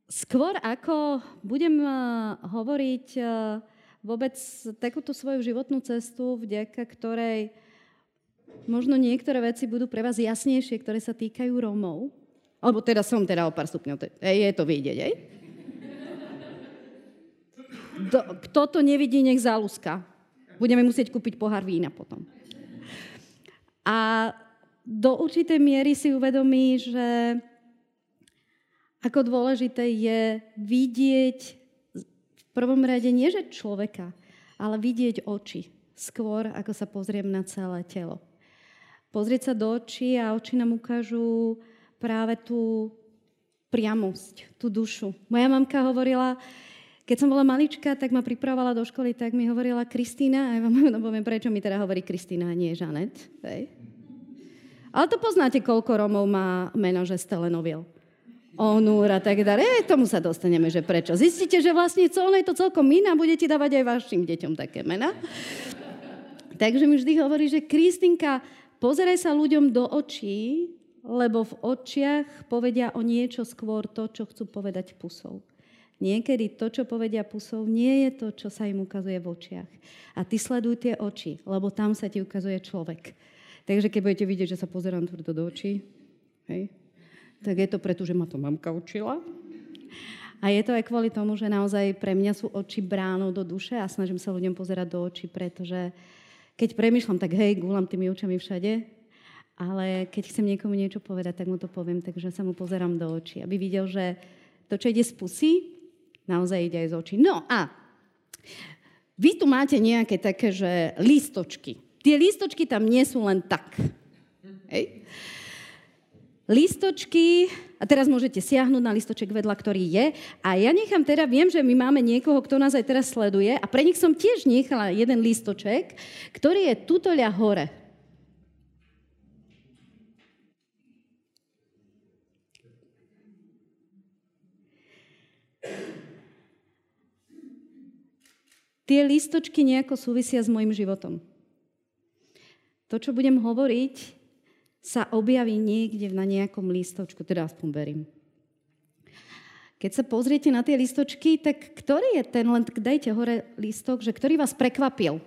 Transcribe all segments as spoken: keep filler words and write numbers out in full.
skôr ako budem hovoriť vôbec takúto svoju životnú cestu, vďaka ktorej možno niektoré veci budú pre vás jasnejšie, ktoré sa týkajú Rómov. Alebo teda som teda o pár stupňov. Je to vidieť, hej? Do, kto to nevidí, nech záľuska. Budeme musieť kúpiť pohár vína potom. A do určitej miery si uvedomí, že ako dôležité je vidieť v prvom rade nie že človeka, ale vidieť oči skôr, ako sa pozriem na celé telo. Pozrieť sa do očí a oči nám ukážu práve tú priamosť, tú dušu. Moja mamka hovorila, keď som bola malička, tak ma pripravovala do školy, tak mi hovorila Kristína, a ja vám poviem, prečo mi teda hovorí Kristína a nie Žanet. Hej. Ale to poznáte, koľko Rómov má meno, že Stelenoviel. Onúr a tak ďalej. Tomu sa dostaneme, že prečo. Zistíte, že vlastne ono je to celkom iné a budete dávať aj vašim deťom také mená. Takže mi vždy hovorí, že Kristínka, pozeraj sa ľuďom do očí, lebo v očiach povedia o niečo skôr to, čo chcú povedať pusou. Niekedy to, čo povedia pusou, nie je to, čo sa im ukazuje v očiach. A ty sleduj tie oči, lebo tam sa ti ukazuje človek. Takže keď budete vidieť, že sa pozerám tvrdo do očí, hej, tak je to preto, že ma to mamka učila. A je to aj kvôli tomu, že naozaj pre mňa sú oči bránou do duše a snažím sa ľuďom pozerať do očí, pretože keď premýšľam, tak hej, gúlam tými očami všade, ale keď chcem niekomu niečo povedať, tak mu to poviem, takže sa mu pozerám do očí, aby videl, že to, čo ide z pusy, naozaj ide aj z očí. No a vy tu máte nejaké také, že lístočky. Tie lístočky tam nie sú len tak. Hej. Lístočky, a teraz môžete siahnuť na lístoček vedľa, ktorý je. A ja nechám teda, viem, že my máme niekoho, kto nás aj teraz sleduje a pre nich som tiež nechala jeden lístoček, ktorý je tutoľa hore. Tie lístočky nejako súvisia s mojim životom. To, čo budem hovoriť, sa objaví niekde na nejakom lístočku, teda aspoň verím. Keď sa pozriete na tie lístočky, tak ktorý je ten, len dajte hore lístok, že ktorý vás prekvapil?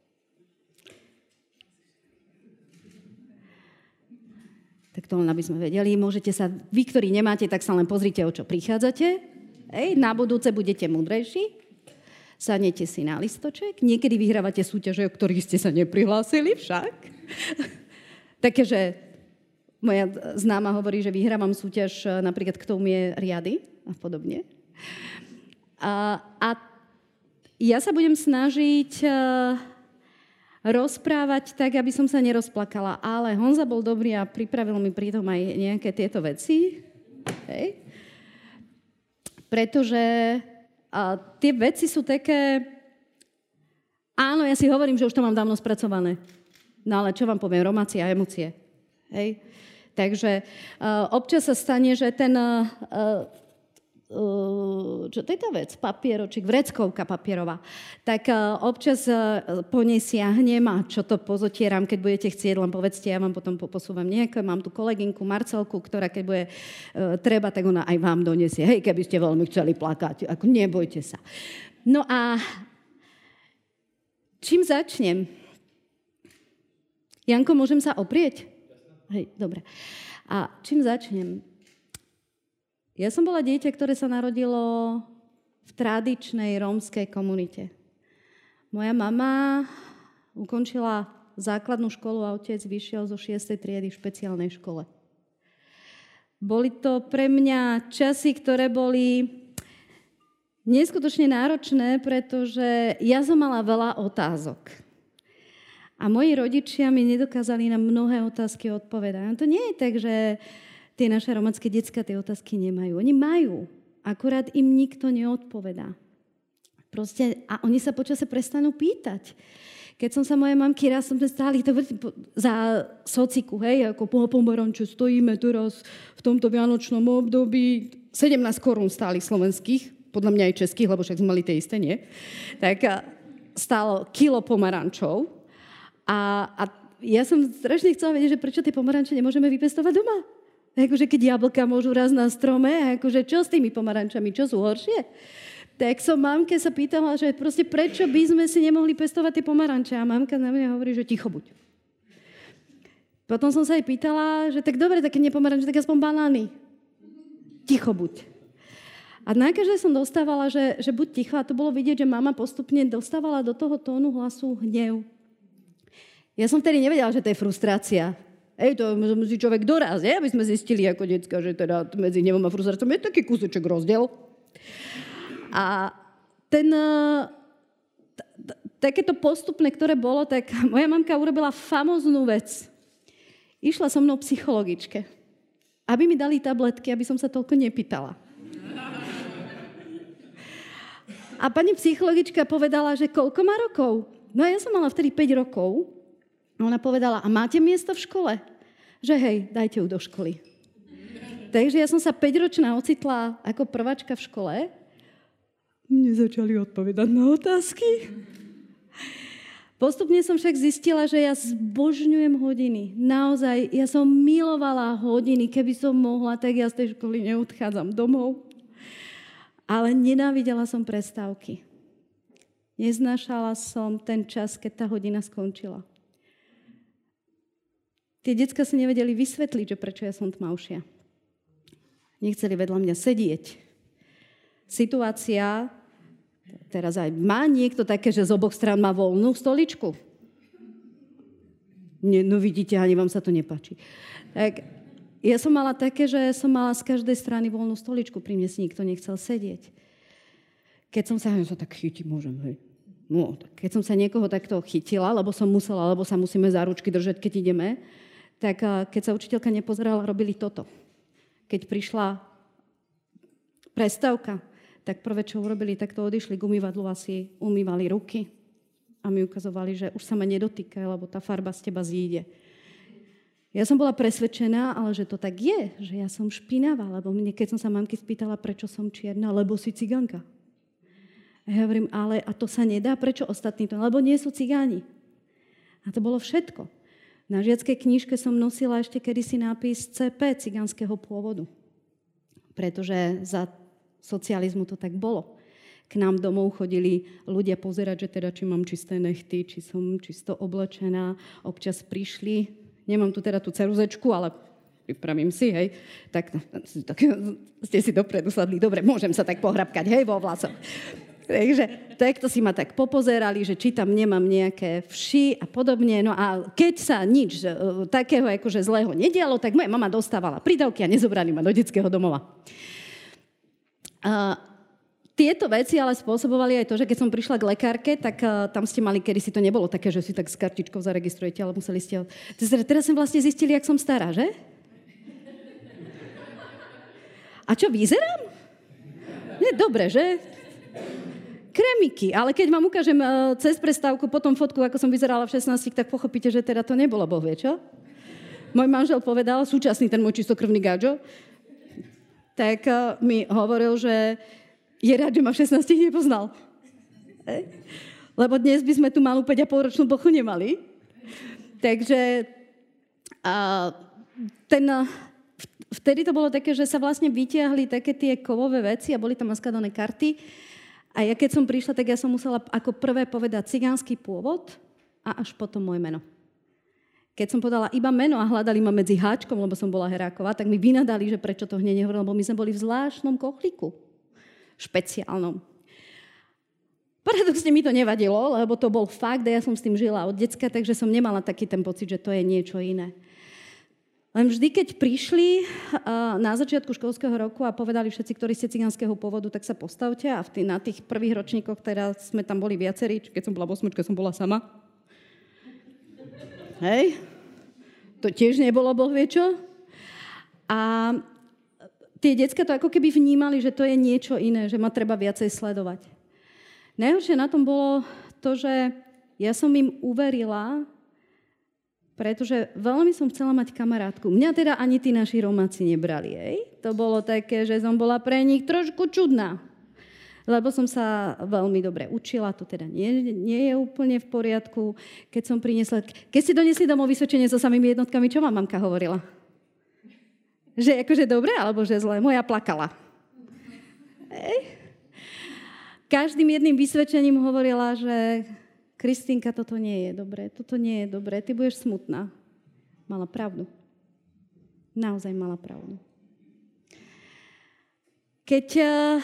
Tak to len aby sme vedeli. Môžete sa, vy, ktorí nemáte, tak sa len pozrite, o čo prichádzate. Ej, na budúce budete múdrejší. Sadnete si na listoček. Niekedy vyhrávate súťaže, o ktorých ste sa neprihlásili však. Takže moja známa hovorí, že vyhrávam súťaž napríklad, kto umie riady a podobne. A, a ja sa budem snažiť rozprávať tak, aby som sa nerozplakala. Ale Honza bol dobrý a pripravil mi pritom aj nejaké tieto veci. Hej. Pretože a tie veci sú také... Áno, ja si hovorím, že už to mám dávno spracované. No ale čo vám poviem? Romácie a emócie. Hej? Takže uh, občas sa stane, že ten... Uh, uh, čo to je tá vec? Papieročík, vreckovka papierová. Tak uh, občas uh, po nej siahnem a čo to pozotieram, keď budete chcieť, len povedzte, ja vám potom posúvam nejaké. Mám tu kolegynku Marcelku, ktorá keď bude uh, treba, tak ona aj vám donesie. Hej, keby ste veľmi chceli plakať. Ako nebojte sa. No a čím začnem? Janko, môžem sa oprieť? Hej, dobre. A čím začnem? Ja som bola dieťa, ktoré sa narodilo v tradičnej rómskej komunite. Moja mama ukončila základnú školu a otec vyšiel zo šiestej triedy v špeciálnej škole. Boli to pre mňa časy, ktoré boli neskutočne náročné, pretože ja som mala veľa otázok. A moji rodičia mi nedokázali na mnohé otázky odpovedať. No to nie je tak, že tie naše románske decká tie otázky nemajú. Oni majú, akurát im nikto neodpovedá. Proste, a oni sa počase prestanú pýtať. Keď som sa mojej mamky, raz som stáli to za sociku, hej, ako po pomaranče stojíme teraz v tomto vianočnom období. sedemnásť korún stáli slovenských, podľa mňa aj českých, lebo však sme mali tie isté, nie? Tak stálo kilo pomarančov. A, a ja som strašne chcela vedieť, že prečo tie pomaranče nemôžeme vypestovať doma. Akože keď jablka môžu raz na strome, akože čo s tými pomarančami, čo sú horšie? Tak som mamke sa pýtala, že proste prečo by sme si nemohli pestovať tie pomaranče. A mamka na mňa hovorí, že ticho buď. Potom som sa jej pýtala, že tak dobre, tak keď nie pomaranče, tak aspoň banány. Ticho buď. A na každé som dostávala, že, že buď ticho, a to bolo vidieť, že mama postupne dostávala do toho tónu hlasu hnev. Ja som vtedy nevedela, že to je frustrácia. Ej, to musí človek doraz, je? Aby sme zistili ako decka, že teda medzi hnevom a frustráciou je taký kúsoček rozdiel. A ten, t- t- takéto postupné, ktoré bolo, tak moja mamka urobila famoznú vec. Išla so mnou psychologičke, aby mi dali tabletky, aby som sa toľko nepýtala. A pani psychologička povedala, že koľko má rokov? No ja som mala vtedy päť rokov. Ona povedala, a máte miesto v škole? Že hej, dajte ju do školy. Takže ja som sa päťročná ocitla ako prváčka v škole. Mne začali odpovedať na otázky. Postupne som však zistila, že ja zbožňujem hodiny. Naozaj, ja som milovala hodiny. Keby som mohla, tak ja z tej školy neodchádzam domov. Ale nenávidela som prestávky. Neznášala som ten čas, keď tá hodina skončila. Tie decká si nevedeli vysvetliť, že prečo ja som tmavšia. Nechceli vedľa mňa sedieť. Situácia, teraz aj má niekto také, že z oboch strán má voľnú stoličku. Nie, no vidíte, ani vám sa to nepáči. Tak ja som mala také, že som mala z každej strany voľnú stoličku, pri mne si nikto nechcel sedieť. Keď som sa, ja sa tak chytiť môžem, hej. No, keď som sa niekoho takto chytila, lebo som musela, lebo sa musíme za ručky držať, keď ideme, tak keď sa učiteľka nepozerala, robili toto. Keď prišla prestávka, tak prvé, čo urobili, tak to odišli k umývadlu a si umývali ruky a mi ukazovali, že už sa ma nedotýka, lebo tá farba z teba zíde. Ja som bola presvedčená, ale že to tak je, že ja som špinavá, lebo mne, keď som sa mamky spýtala, prečo som čierna, lebo si ciganka. A ja hovorím, ale a to sa nedá, prečo ostatní to? Lebo nie sú cigáni. A to bolo všetko. Na žiackej knižke som nosila ešte kedysi nápis cé pé, cigánskeho pôvodu. Pretože za socializmu to tak bolo. K nám domov chodili ľudia pozerať, že teda, či mám čisté nechty, či som čisto oblečená. Občas prišli, nemám tu teda tú ceruzečku, ale pripravím si, hej. Tak, tak ste si dopredu sadli. Dobre, môžem sa tak pohrabkať, hej, vo vlasoch. Takže takto si ma tak popozerali, že či tam nemám nejaké vši a podobne. No a keď sa nič uh, takého akože zlého nedialo, tak moja mama dostávala prídavky a nezobrali ma do detského domova. Uh, tieto veci ale spôsobovali aj to, že keď som prišla k lekárke, tak uh, tam ste mali, kedy si to nebolo také, že si tak s kartičkou zaregistrujete, ale museli ste... Teraz som vlastne zistili, jak som stará, že? A čo, vyzerám? Nie, dobre, že? Kremiky, ale keď vám ukážem uh, cez prestávku potom fotku, ako som vyzerala v šestnástich, tak pochopíte, že teda to nebolo, Boh vie čo? Môj manžel povedal, súčasný ten môj čistokrvný gáčo, tak uh, mi hovoril, že je rád, že ma v šestnástich nepoznal. E? Lebo dnes by sme tu malú päť a pol ročnú bochu nemali. Takže uh, ten... Uh, vtedy to bolo také, že sa vlastne vytiahli také tie kovové veci a boli tam naskladané karty. A ja keď som prišla, tak ja som musela ako prvé povedať cigánsky pôvod a až potom moje meno. Keď som povedala iba meno a hľadali ma medzi háčkom, lebo som bola Heráková, tak mi vynadali, že prečo to hneď nehovorila, lebo my sme boli v zvláštnom kochlíku. Špeciálnom. Paradoxne mi to nevadilo, lebo to bol fakt a ja som s tým žila od decka, takže som nemala taký ten pocit, že to je niečo iné. Len vždy, keď prišli uh, na začiatku školského roku a povedali všetci, ktorí ste cigánskeho pôvodu, tak sa postavte a v tý, na tých prvých ročníkoch teraz sme tam boli viacerí, keď som bola v osmičke, som bola sama. Hej, to tiež nebolo Boh vie čo. A tie decká to ako keby vnímali, že to je niečo iné, že ma treba viacej sledovať. Najhoršie na tom bolo to, že ja som im uverila, pretože veľmi som chcela mať kamarátku. Mňa teda ani tí naši Romáci nebrali, hej? To bolo také, že som bola pre nich trošku čudná. Lebo som sa veľmi dobre učila, to teda nie, nie je úplne v poriadku. Keď som priniesla... Keď ste donesli domov vysvedčenie so samými jednotkami, čo vám mamka hovorila? Že akože dobre, alebo že zle. Moja plakala. Ej. Každým jedným vysvedčením hovorila, že Kristýnka, toto nie je dobré, toto nie je dobré, ty budeš smutná. Mala pravdu. Naozaj mala pravdu. Keď uh,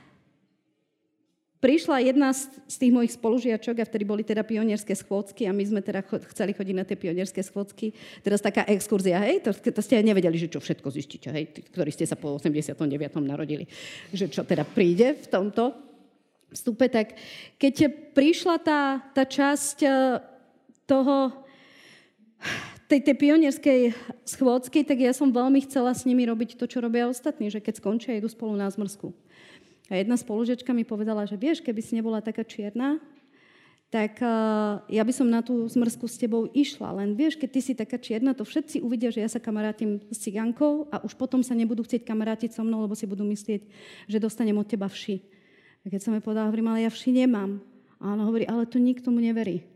prišla jedna z, z tých mojich spolužiačok, a vtedy boli teda pionierské schôdzky a my sme teda cho- chceli chodiť na tie pionierské schôdzky, teraz taká exkurzia, hej, to, to ste aj nevedeli, že čo všetko zistíte, hej, tí, ktorí ste sa po osemdesiatom deviatom narodili, že čo teda príde v tomto vstupe, tak keď prišla tá, tá časť toho, tej, tej pionierskej schôdzky, tak ja som veľmi chcela s nimi robiť to, čo robia ostatní, že keď skončia, idú spolu na zmrzku. A jedna spolužiačka mi povedala, že vieš, keby si nebola taká čierna, tak uh, ja by som na tú zmrzku s tebou išla. Len vieš, keď ty si taká čierna, to všetci uvidia, že ja sa kamarátim s cigánkou a už potom sa nebudú chcieť kamarátiť so mnou, lebo si budú myslieť, že dostanem od teba vši. A keď som jej povedala, hovorím, ale ja vši nemám. A ona hovorí, ale to nikto mu neverí.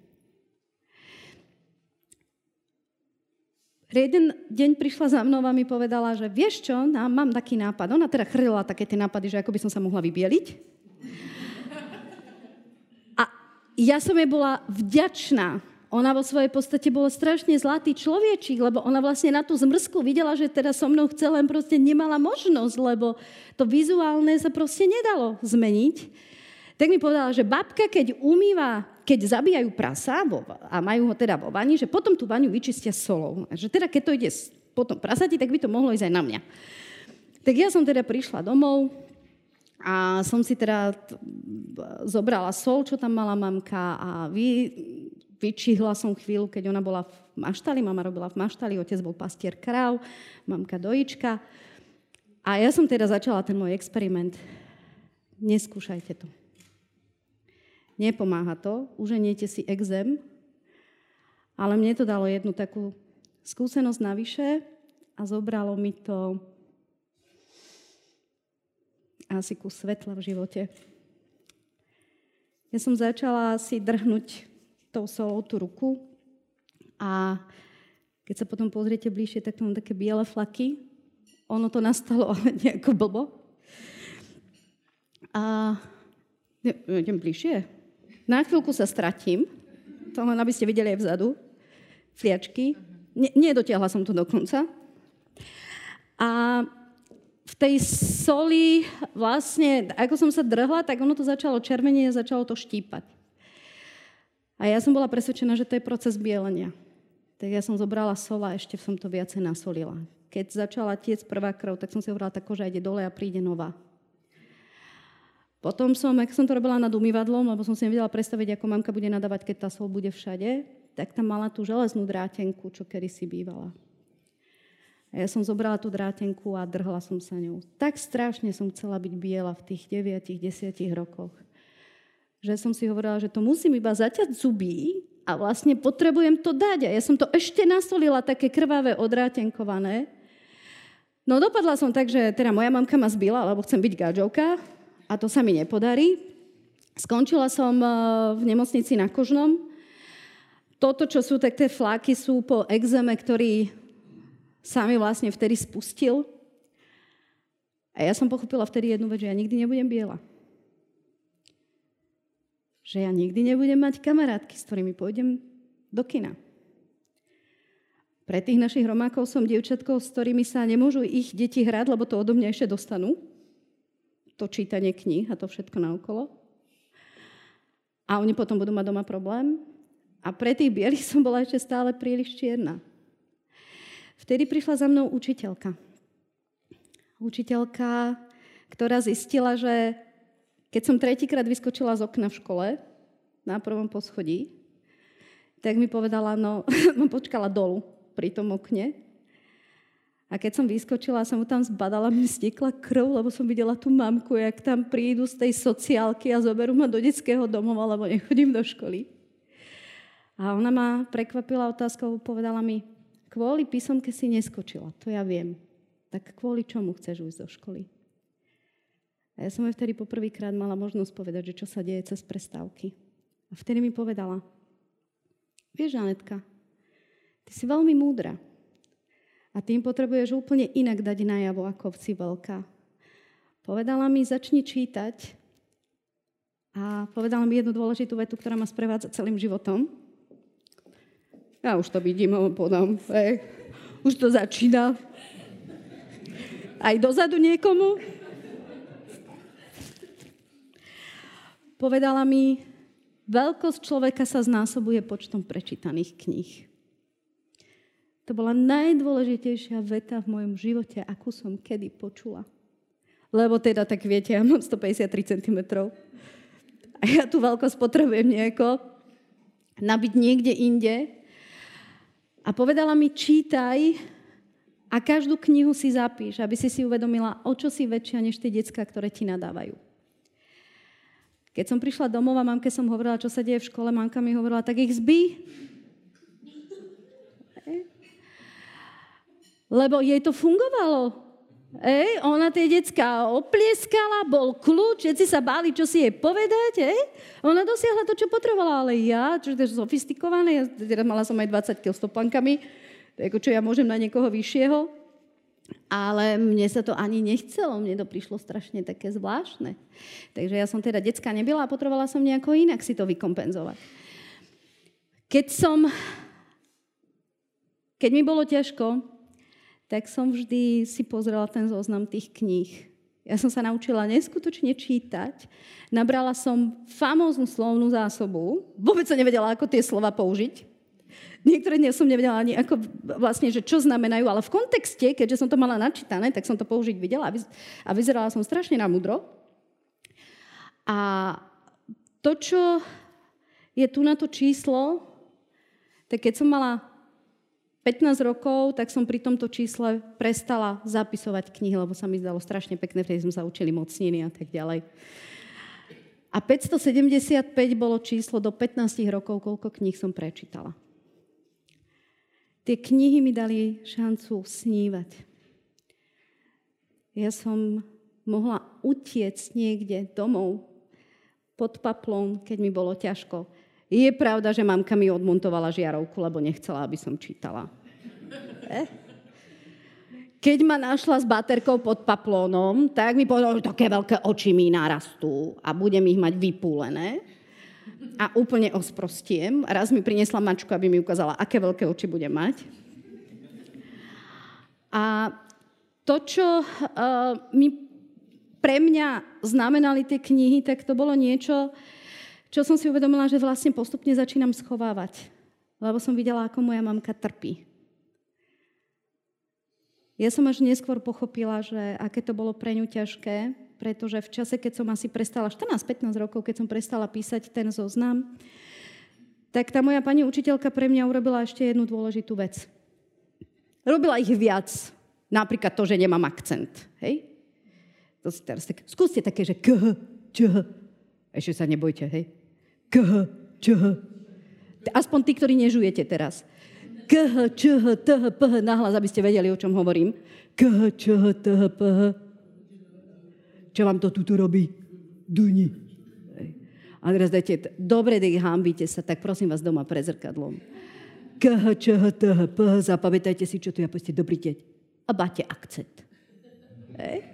Jeden deň prišla za mnou a mi povedala, že vieš čo, mám taký nápad. Ona teda chrlila také tie nápady, že ako by som sa mohla vybieliť. A ja som jej bola vďačná. Ona vo svojej podstate bola strašne zlatý človečík, lebo ona vlastne na tú zmrzku videla, že teda so mnou chce, len proste nemala možnosť, lebo to vizuálne sa proste nedalo zmeniť. Tak mi povedala, že babka, keď umýva, keď zabíjajú prasa a majú ho teda vo vani, že potom tú vaňu vyčistia solou. A že teda keď to ide potom prasati, tak by to mohlo ísť aj na mňa. Tak ja som teda prišla domov a som si teda zobrala sol, čo tam mala mamka a vy... Vyčihla som chvíľu, keď ona bola v maštali, mama robila v maštali, otec bol pastier kráv, mamka dojička. A ja som teda začala ten môj experiment. Neskúšajte to. Nepomáha to, uženiete si exém, ale mne to dalo jednu takú skúsenosť navyše a zobralo mi to asi kus svetla v živote. Ja som začala si drhnúť tou solou tú ruku a keď sa potom pozriete bližšie, tak to mám také biele flaky. Ono to nastalo, ale nejako blbo. A idem bližšie. Na chvíľku sa stratím. To len aby ste videli aj vzadu. Fliačky. Nie, nedotiahla som to do konca. A v tej soli vlastne, ako som sa drhla, tak ono to začalo červenieť a začalo to štípať. A ja som bola presvedčená, že to je proces bielenia. Tak ja som zobrala sol a ešte som to viacej nasolila. Keď začala tiec prvá krv, tak som si hovorila, tá koža ide dole a príde nová. Potom som, ak som to robila nad umývadlom, lebo som si nevedela predstaviť, ako mamka bude nadávať, keď tá sol bude všade, tak tam mala tú železnú drátenku, čo kedysi bývala. A ja som zobrala tú drátenku a drhla som sa ňou. Tak strašne som chcela byť biela v tých deviatich, desiatich rokoch, že som si hovorila, že to musím iba zaťať zuby a vlastne potrebujem to dať. A ja som to ešte nasolila, také krvavé, odrátenkované. No dopadla som tak, že teda moja mamka ma zbila, lebo chcem byť gadžovka a to sa mi nepodarí. Skončila som v nemocnici na Kožnom. Toto, čo sú tak tie fláky, sú po exéme, ktorý sa mi vlastne vtedy spustil. A ja som pochopila vtedy jednu vec, že ja nikdy nebudem biela. Že ja nikdy nebudem mať kamarátky, s ktorými pôjdem do kina. Pre tých našich romákov som dievčatkou, s ktorými sa nemôžu ich deti hrať, lebo to odo mňa ešte dostanú. To čítanie kníh a to všetko naokolo. A oni potom budú mať doma problém. A pre tých bielých som bola ešte stále príliš čierna. Vtedy prišla za mnou učiteľka. Učiteľka, ktorá zistila, že keď som tretíkrát vyskočila z okna v škole, na prvom poschodí, tak mi povedala, no, no počkala dolu pri tom okne. A keď som vyskočila, som mu tam zbadala, mi stiekla krv, lebo som videla tú mamku, jak tam prídu z tej sociálky a zoberú ma do detského domova, lebo nechodím do školy. A ona ma prekvapila otázkou, povedala mi, kvôli písomke si neskočila, to ja viem. Tak kvôli čomu chceš ujsť do školy? A ja som jej vtedy poprvýkrát mala možnosť povedať, že čo sa deje cez prestávky. A vtedy mi povedala, vieš, Anetka, ty si veľmi múdra. A tým potrebuješ úplne inak dať najavo ako vci veľká. Povedala mi, začni čítať. A povedala mi jednu dôležitú vetu, ktorá ma sprevádza celým životom. Ja už to vidím, ho podám. Ej, už to začína. Aj dozadu niekomu. Povedala mi, veľkosť človeka sa znásobuje počtom prečítaných kníh. To bola najdôležitejšia veta v mojom živote, akú som kedy počula. Lebo teda, tak viete, ja mám stopäťdesiattri centimetrov. A ja tú veľkosť potrebujem nejako nabiť niekde inde. A povedala mi, čítaj a každú knihu si zapíš, aby si si uvedomila, o čo si väčšia než tie decká, ktoré ti nadávajú. Keď som prišla domov a mamke som hovorila, čo sa deje v škole, mamka mi hovorila, tak ich zbí. Lebo jej to fungovalo. Ej, ona tie decká oplieskala, bol kľúč, všetci sa báli, čo si jej povedať. Ej. Ona dosiahla to, čo potrebovala, ale ja, čo je sofistikované, ja teda mala som aj dvadsať kilogramov s topankami, ako čo ja môžem na niekoho vyššieho, ale mne sa to ani nechcelo, mne to prišlo strašne také zvláštne. Takže ja som teda decká nebyla a potrebovala som nejako inak si to vykompenzovať. Keď som, keď mi bolo ťažko, tak som vždy si pozrela ten zoznam tých kníh. Ja som sa naučila neskutočne čítať. Nabrala som famóznu slovnú zásobu. Vôbec som nevedela, ako tie slova použiť. Niektoré dnes som nevedela ani ako vlastne, že čo znamenajú, ale v kontexte, keďže som to mala načítané, tak som to použiť videla a vyzerala som strašne na múdro. A to, čo je tu na to číslo, tak keď som mala pätnásť rokov, tak som pri tomto čísle prestala zapisovať knihy, lebo sa mi zdalo strašne pekné, vtedy sme sa učili mocniny a tak ďalej. A päťstosedemdesiatpäť bolo číslo do pätnásť rokov, koľko kníh som prečítala. Tie knihy mi dali šancu snívať. Ja som mohla utiecť niekde domov pod paplón, keď mi bolo ťažko. Je pravda, že mamka mi odmontovala žiarovku, lebo nechcela, aby som čítala. Eh? Keď ma našla s baterkou pod paplónom, tak mi povedala, že také veľké oči mi narastú a budem ich mať vypúlené. A úplne osprostiem. Raz mi priniesla mačku, aby mi ukázala, aké veľké oči budem mať. A to, čo uh, mi pre mňa znamenali tie knihy, tak to bolo niečo, čo som si uvedomila, že vlastne postupne začínam schovávať. Lebo som videla, ako moja mamka trpí. Ja som až neskôr pochopila, že aké to bolo pre ňu ťažké, pretože v čase, keď som asi prestala, štrnásť pätnásť rokov, keď som prestala písať ten zoznam, tak tá moja pani učiteľka pre mňa urobila ešte jednu dôležitú vec. Robila ich viac. Napríklad to, že nemám akcent. Hej? To si teraz tak, skúste také, že kh, čh. Ešte sa nebojte, hej? Kh, čh. Aspoň tí, ktorí nežujete teraz. Kh, čh, th, ph, nahlas, aby ste vedeli, o čom hovorím. Kh, čh, th, ph. Čo vám to tuto robí? Duni. A teraz dajte, dobre, dej, hambíte sa, tak prosím vás doma pred zrkadlom. Kh, čh, th, ph, zapamätajte si, čo tu ja povedzte, dobrý deň. A máte akcent. Hej?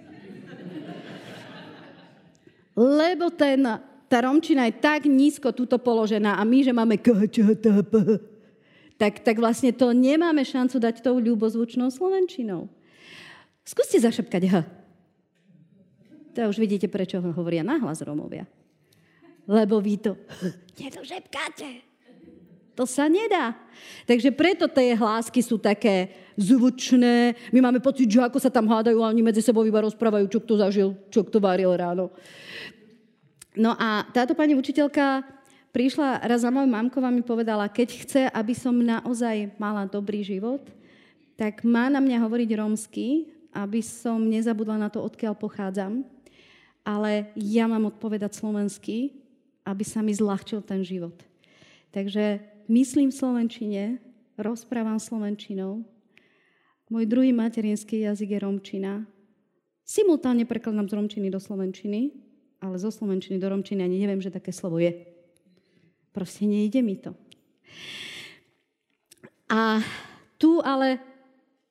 Lebo ten, tá romčina je tak nízko tuto položená a my, že máme kh, čh, th, ph, tak, tak vlastne to nemáme šancu dať tou ľubozvučnou slovenčinou. Skúste zašepkať h. To už vidíte, prečo hovoria nahlas Rómovia. Lebo vy to nedošepkáte. To sa nedá. Takže preto tie hlásky sú také zvučné. My máme pocit, že ako sa tam hádajú, a oni medzi sebou iba rozprávajú, čo kto zažil, čo kto varil ráno. No a táto pani učiteľka prišla raz za mojou mamkou a mi povedala, keď chce, aby som naozaj mala dobrý život, tak má na mňa hovoriť rómsky, aby som nezabudla na to, odkiaľ pochádzam. Ale ja mám odpovedať slovensky, aby sa mi zľahčil ten život. Takže myslím v slovenčine, rozprávam slovenčinou. Môj druhý materinský jazyk je rómčina. Simultánne prekladám z rómčiny do slovenčiny, ale zo slovenčiny do rómčiny ani neviem, že také slovo je. Proste nejde mi to. A tu ale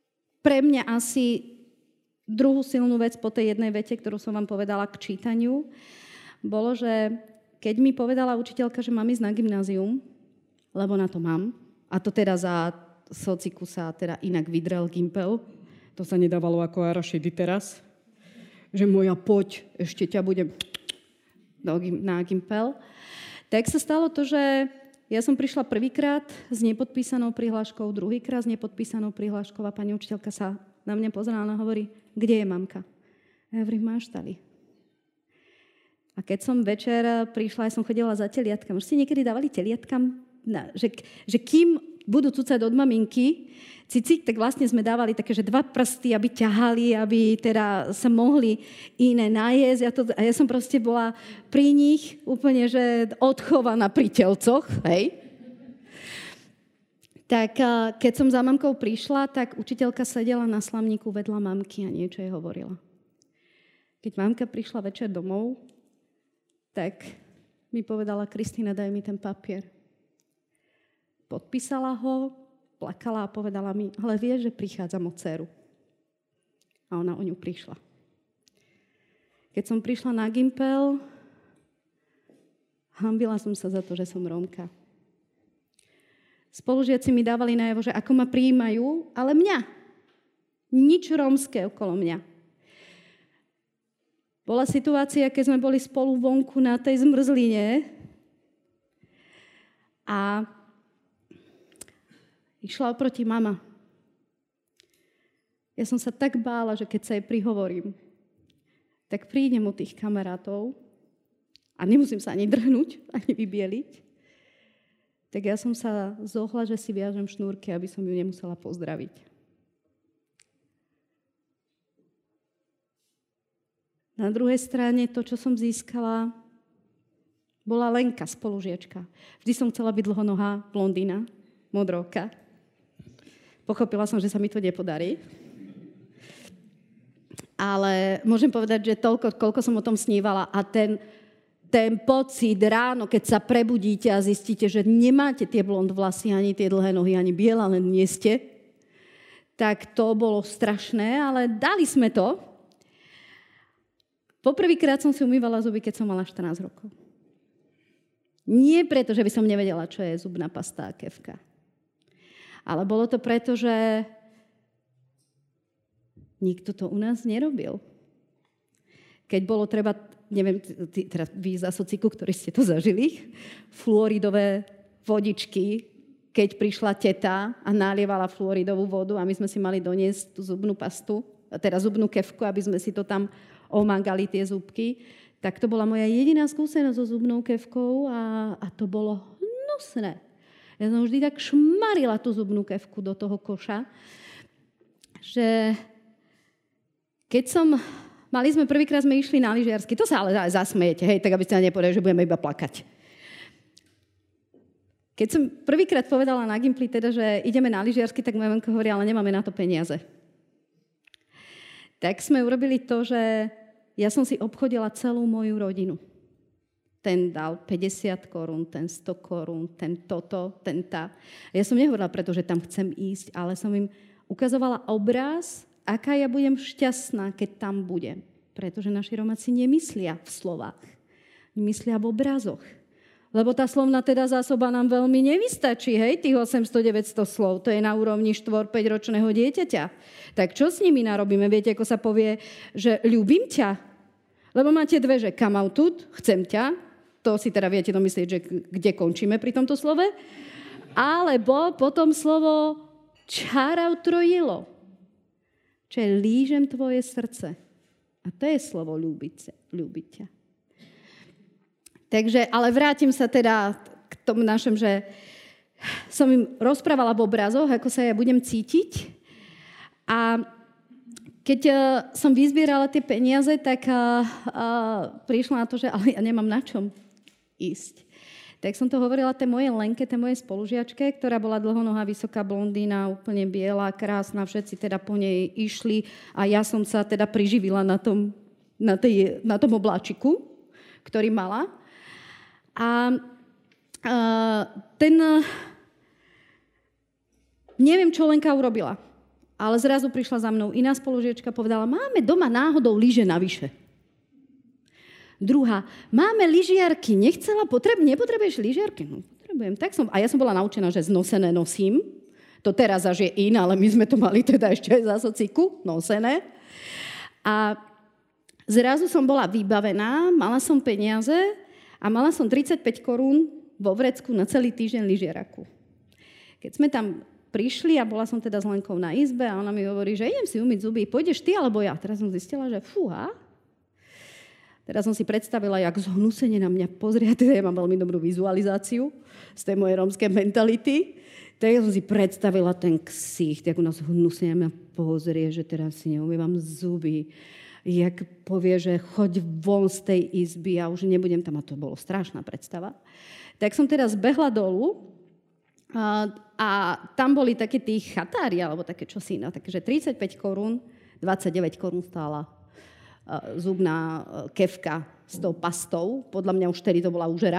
pre mňa asi druhú silnú vec po tej jednej vete, ktorú som vám povedala k čítaniu, bolo, že keď mi povedala učiteľka, že mám ísť na gymnázium, lebo na to mám, a to teda za sociku sa teda inak vydrel Gimpel, to sa nedávalo ako Arašedy teraz, že moja poď, ešte ťa budem na Gimpel, tak sa stalo to, že ja som prišla prvýkrát s nepodpísanou prihláškou, druhýkrát s nepodpísanou prihláškou a pani učiteľka sa na mňa pozerala a hovorí, kde je mamka? A ja hovorím, máš tady. A keď som večer prišla, ja som chodila za teliatkami. Už ste niekedy dávali teliatkam, na, že, že kým budú cucať od maminky cicik, tak vlastne sme dávali také, že dva prsty, aby ťahali, aby teda sa mohli iné najesť. Ja, to, a ja som proste bola pri nich úplne, že odchovaná pri telcoch, hej. Tak keď som za mamkou prišla, tak učiteľka sedela na slamníku vedľa mamky a niečo jej hovorila. Keď mamka prišla večer domov, tak mi povedala, Kristína, daj mi ten papier. Podpísala ho, plakala a povedala mi, ale vieš, že prichádzam o dceru. A ona o ňu prišla. Keď som prišla na Gimpel, hanbila som sa za to, že som Rómka. Spolužiaci mi dávali najavo, že ako ma prijímajú, ale mňa. Nič rómske okolo mňa. Bola situácia, keď sme boli spolu vonku na tej zmrzline a išla oproti mama. Ja som sa tak bála, že keď sa jej prihovorím, tak prídem od tých kamarátov a nemusím sa ani drhnúť, ani vybieliť. Tak ja som sa zohla, že si viažem šnúrky, aby som ju nemusela pozdraviť. Na druhej strane to, čo som získala, bola Lenka, spolužiačka. Vždy som chcela byť dlhonohá, blondína, modróka. Pochopila som, že sa mi to nepodarí. Ale môžem povedať, že toľko, koľko som o tom snívala a ten, ten pocit ráno, keď sa prebudíte a zistíte, že nemáte tie blond vlasy, ani tie dlhé nohy, ani biela, len nie ste, tak to bolo strašné, ale dali sme to. Poprvýkrát som si umývala zuby, keď som mala štrnásť rokov. Nie preto, že by som nevedela, čo je zubná pasta a kefka. Ale bolo to preto, že nikto to u nás nerobil. Keď bolo treba, neviem, teda vy za sociku, ktorí ste to zažili, fluoridové vodičky, keď prišla teta a nalievala fluoridovú vodu a my sme si mali doniesť tú zubnú pastu, teda zubnú kefku, aby sme si to tam omágali tie zúbky, tak to bola moja jediná skúsenosť so zubnou kefkou a, a to bolo hnusné. Ja som vždy tak šmarila tú zubnú kefku do toho koša, že keď som, mali sme prvýkrát sme išli na lyžiarsky, to sa ale zasmejete, hej, tak aby ste nepovedali, že budeme iba plakať. Keď som prvýkrát povedala na Gimply, teda, že ideme na lyžiarsky, tak moja mamka hovorí, ale nemáme na to peniaze. Tak sme urobili to, že ja som si obchodila celú moju rodinu. Ten dal päťdesiat korún, ten sto korún, ten toto, ten tá. Ja som nehovorila preto, že tam chcem ísť, ale som im ukazovala obraz, aká ja budem šťastná, keď tam budem. Pretože naši Romáci nemyslia v slovách, myslia v obrazoch. Lebo tá slovná teda zásoba nám veľmi nevystačí, hej, tých osemsto deväťsto slov. To je na úrovni štyri päť ročného dieťaťa. Tak čo s nimi narobíme? Viete, ako sa povie, že ľúbim ťa? Lebo máte dve, že come out tut, chcem ťa. To si teda viete domyslieť, že kde končíme pri tomto slove. Alebo potom slovo čárau trojilo. Čo je lížem tvoje srdce. A to je slovo ľúbiť, ľúbiť ťa. Takže, ale vrátim sa teda k tomu našem, že som im rozprávala v obrazoch, ako sa ja budem cítiť. A keď uh, som vyzbierala tie peniaze, tak uh, uh, prišla na to, že ale ja nemám na čom ísť. Tak som to hovorila tej mojej Lenke, tej mojej spolužiačke, ktorá bola dlhonohá, vysoká blondína, úplne biela, krásna, všetci teda po nej išli a ja som sa teda priživila na tom, na tej, na tom obláčiku, ktorý mala. A uh, ten... Uh, neviem, čo Lenka urobila. Ale zrazu prišla za mnou iná spolužiačka a povedala, máme doma náhodou lyže navyše. Druhá, máme lyžiarky, nechcela, potreb, nepotrebuješ lyžiarky? No, potrebujem. Tak som, a ja som bola naučená, že znosené nosím. To teraz až je in, ale my sme to mali teda ešte aj za sociku, nosené. A zrazu som bola vybavená, mala som peniaze a mala som tridsaťpäť korún vo vrecku na celý týždeň lyžiaraku. Keď sme tam prišli a bola som teda s Lenkou na izbe a ona mi hovorí, že idem si umyť zuby, pôjdeš ty alebo ja? Teraz som zistila, že fúha. Teraz som si predstavila, jak zhnusenie na mňa pozrie, teda ja mám veľmi dobrú vizualizáciu z tej mojej rómskej mentality. Tak ja som si predstavila ten ksicht, jak u nás hnusenie na mňa pozrie, že teraz si neumývam zuby, jak povie, že choď von z tej izby a už nebudem tam, a to bolo strašná predstava. Tak som teraz behla dolu a, a tam boli také tí chatári, alebo také čosi, no, takže tridsaťpäť korún, dvadsaťdeväť korún stála uh, zubná uh, kefka s tou pastou. Podľa mňa už vtedy to bola úžera.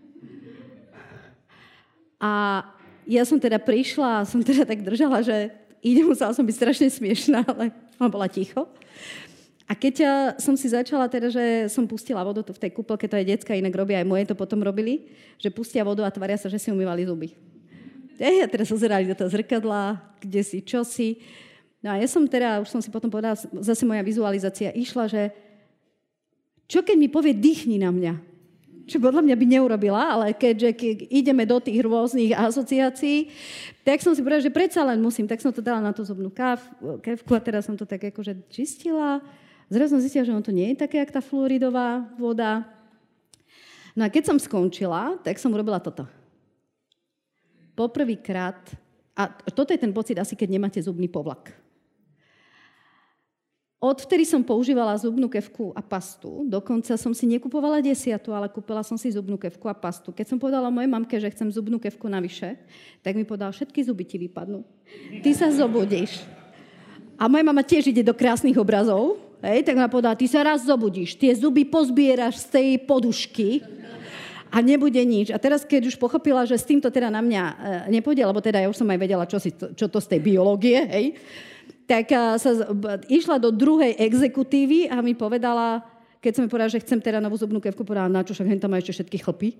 A ja som teda prišla a som teda tak držala, že ide, musela som byť strašne smiešná, ale ona bola ticho. A keď ja som si začala teda, že som pustila vodu v tej kúpelke, to aj decka inak robia, aj moje to potom robili, že pustia vodu a tvária sa, že si umývali zuby. Ja teda sa zerali do toho zrkadla, kde si, čo si. No a ja som teda, už som si potom povedala, zase moja vizualizácia išla, že čo keď mi povie, dýchni na mňa? Čo podľa mňa by neurobila, ale keďže keď ideme do tých rôznych asociácií, tak som si povedala, že predsa len musím. Tak som to dala na tú zubnú kefku a teraz som to tak akože čistila. Zrazu som zistila, že on to nie je také, jak tá fluoridová voda. No a keď som skončila, tak som urobila toto. Poprvýkrát, a toto je ten pocit asi, keď nemáte zubný povlak. Odvtedy som používala zubnú kefku a pastu. Dokonca som si nekupovala desiatu, ale kúpila som si zubnú kefku a pastu. Keď som povedala mojej mamke, že chcem zubnú kefku navyše, tak mi povedala, všetky zuby ti vypadnú. Ty sa zobudíš. A moja mama tiež ide do krásnych obrazov. Hej, tak ma povedala, ty sa raz zobudíš, tie zuby pozbieraš z tej podušky a nebude nič. A teraz, keď už pochopila, že s týmto teda na mňa e, nepôjde, lebo teda ja už som aj vedela, čo, si, čo to z tej biológie, hej, tak sa išla do druhej exekutívy a mi povedala, keď som mi povedala, že chcem teda novú zubnú kefku, povedala, na čo, však hen tam má ešte všetky chlpy.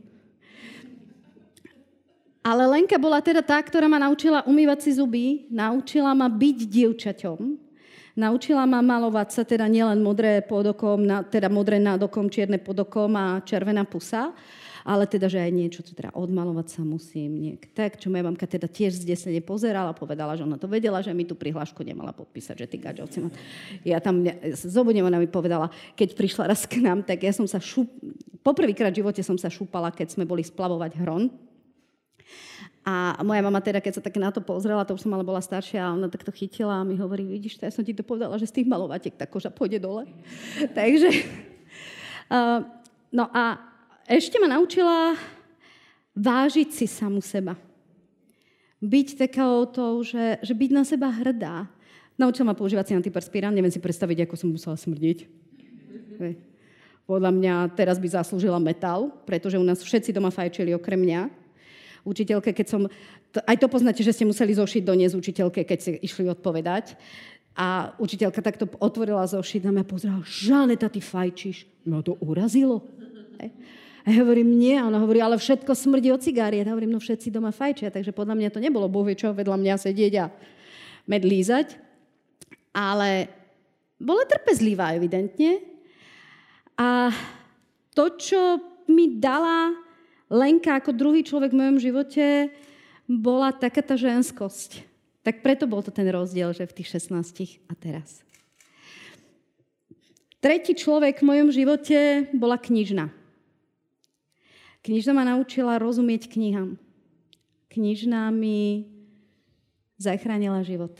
Ale Lenka bola teda tá, ktorá ma naučila umývať si zuby, naučila ma byť dievčaťom, naučila ma malovať sa, teda nielen modré pod okom, teda modré nad okom, čierne pod okom a červená pusa, ale teda, že aj niečo, teda odmalovať sa musím. Niek. Tak, čo moja mamka teda tiež zdesene pozerala, povedala, že ona to vedela, že mi tú prihlášku nemala podpísať, že ty gaďovci ma... Ja tam, zobudnem, ona mi povedala, keď prišla raz k nám, tak ja som sa šúp... Poprvýkrát v živote som sa šúpala, keď sme boli splavovať Hron. A moja mama teda, keď sa tak na to pozrela, to už som ale bola staršia, a ona tak to chytila a mi hovorí, vidíš, ja som ti to povedala, že z tých malovatiek tá koža pôjde dole. Takže... Uh, no a ešte ma naučila vážiť si samu seba. Byť takou tou, že, že byť na seba hrdá. Naučila ma používať si antiperspirant, neviem si predstaviť, ako som musela smrdiť. Podľa mňa teraz by zaslúžila metal, pretože u nás všetci doma fajčili okrem mňa. Učiteľke, keď som... To, aj to poznáte, že ste museli zošiť doniesť učiteľke, keď ste išli odpovedať. A učiteľka takto otvorila zošit a mňa pozerala, Žaneta, ty fajčíš. No to urazilo. Hej. A ja hovorím, nie. A ona hovorí, ale všetko smrdí od cigárie. Ja hovorím, no všetci doma fajčia, takže podľa mňa to nebolo bohvie čo vedľa mňa sedieť a med lízať. Ale bola trpezlivá, evidentne. A to, čo mi dala Lenka ako druhý človek v mojom živote, bola taká tá ženskosť. Tak preto bol to ten rozdiel, že v tých šestnástich a teraz. Tretí človek v mojom živote bola knižna. Knižna ma naučila rozumieť knihám. Knižna mi zachránila život.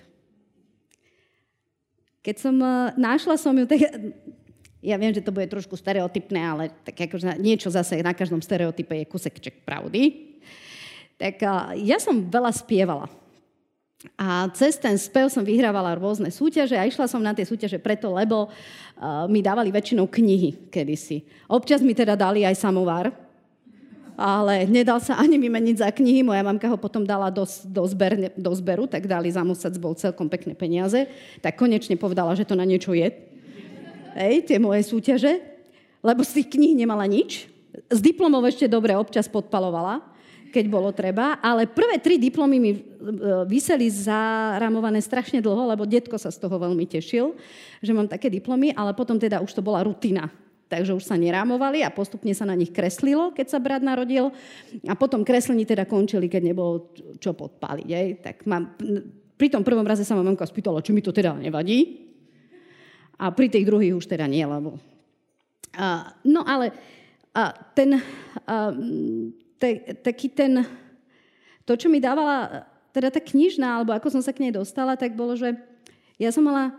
Keď som našla som ju, tak ja viem, že to bude trošku stereotypné, ale tak akože niečo zase na každom stereotype je kusekček pravdy. Tak ja som veľa spievala. A cez ten spev som vyhrávala rôzne súťaže a išla som na tie súťaže preto, lebo uh, mi dávali väčšinou knihy kedysi. Občas mi teda dali aj samovár. ale nedal sa ani vymeniť za knihy. Moja mamka ho potom dala do, do, zber, do zberu, tak dali za mesiac, bol celkom pekné peniaze. Tak konečne povedala, že to na niečo je. Hej, tie moje súťaže. Lebo z tých kníh nemala nič. Z diplomov ešte dobre občas podpalovala, keď bolo treba. Ale prvé tri diplomy mi viseli zaramované strašne dlho, lebo detko sa z toho veľmi tešil, že mám také diplomy, ale potom teda už to bola rutina. Takže už sa nerámovali a postupne sa na nich kreslilo, keď sa brat narodil. A potom kreslení teda končili, keď nebolo čo podpáliť. Aj? Tak mám, pri tom prvom raze sa ma mamka spýtala, či mi to teda nevadí. A pri tých druhých už teda nie, lebo... A, no ale a ten... A, te, taký ten... To, čo mi dávala teda tá knižná, alebo ako som sa k nej dostala, tak bolo, že ja som mala...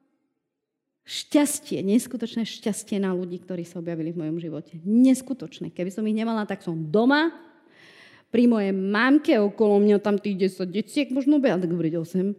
šťastie, neskutočné šťastie na ľudí, ktorí sa objavili v mojom živote. Neskutočné. Keby som ich nemala, tak som doma, pri mojej mamke, okolo mňa tam tých desať deciek, možno by, ale tak hovoriť osem.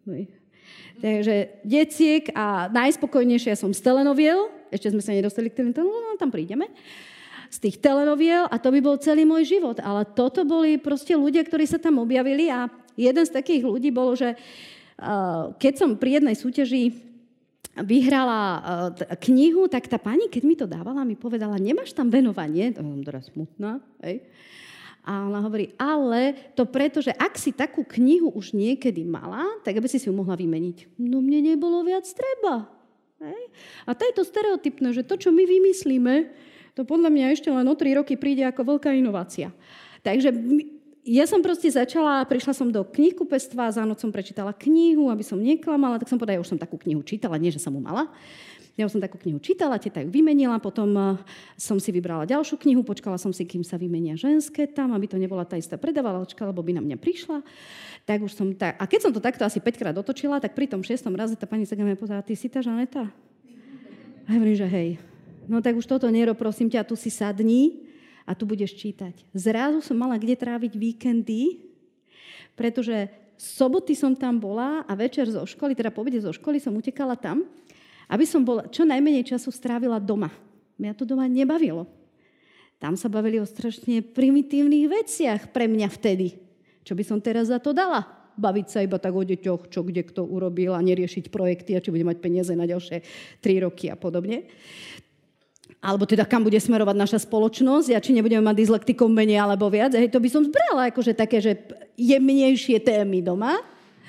Takže deciek a najspokojnejšia som z telenoviel, ešte sme sa nedostali k telenoviel, no tam prídeme, z tých telenoviel a to by bol celý môj život. Ale toto boli proste ľudia, ktorí sa tam objavili a jeden z takých ľudí bolo, že uh, keď som pri jednej súťaži vyhrala uh, knihu, tak tá pani, keď mi to dávala, mi povedala, nemáš tam venovanie, to som teraz smutná, hej. A ona hovorí, ale to preto, že ak si takú knihu už niekedy mala, tak aby si si ju mohla vymeniť. No mne nebolo viac treba. Hej. A to je to stereotypné, že to, čo my vymyslíme, to podľa mňa ešte len o tri roky príde ako veľká inovácia. Takže ja som proste začala, prišla som do knihkupectva, za noc som prečítala knihu, aby som neklamala, tak som povedala, ja už som takú knihu čítala, nie, že som ju mala. Ja už som takú knihu čítala, teta ju vymenila, potom som si vybrala ďalšiu knihu, počkala som si, kým sa vymenia ženské tam, aby to nebola tá istá predávalačka, lebo by na mňa prišla. Tak už som tak... A keď som to takto asi päťkrát otočila, tak pri tom šiestom raze tá pani sa na mňa pozerala, ty si tá Žaneta? A ja hovorím, že hej. No tak už toto nerob, prosím ťa, tu si sadni a tu budeš čítať. Zrazu som mala kde tráviť víkendy, pretože soboty som tam bola a večer zo školy, teda po obede zo školy som utekala tam, aby som bola, čo najmenej času strávila doma. Mňa to doma nebavilo. Tam sa bavili o strašne primitívnych veciach pre mňa vtedy. Čo by som teraz za to dala? Baviť sa iba tak o deťoch, čo kde kto urobil a neriešiť projekty a či bude mať peniaze na ďalšie tri roky a podobne. Alebo teda kam bude smerovať naša spoločnosť a či nebudeme mať dyslektikom menej alebo viac. Hej, to by som zbrala akože také, že jemnejšie témy doma.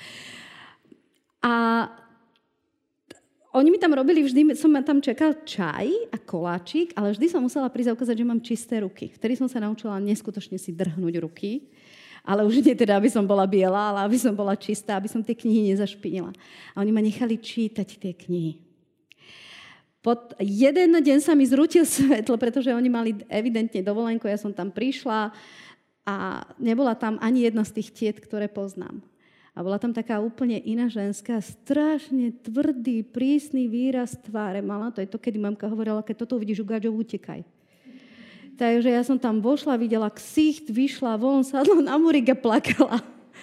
A oni mi tam robili, vždy som tam čakal čaj a koláčik, ale vždy som musela prísť a ukázať, že mám čisté ruky. Vtedy som sa naučila neskutočne si drhnúť ruky, ale už nie teda, aby som bola biela, ale aby som bola čistá, aby som tie knihy nezašpinila. A oni ma nechali čítať tie knihy. Pod jeden deň sa mi zrútil svetlo, pretože oni mali evidentne dovolenku, ja som tam prišla a nebola tam ani jedna z tých tiet, ktoré poznám. A bola tam taká úplne iná ženská, strašne tvrdý, prísny výraz tváre mala. To je to, kedy mamka hovorila, keď toto uvidíš u gáčov, utekaj. Takže ja som tam vošla, videla ksicht, vyšla von, sadla na múrik a plakala.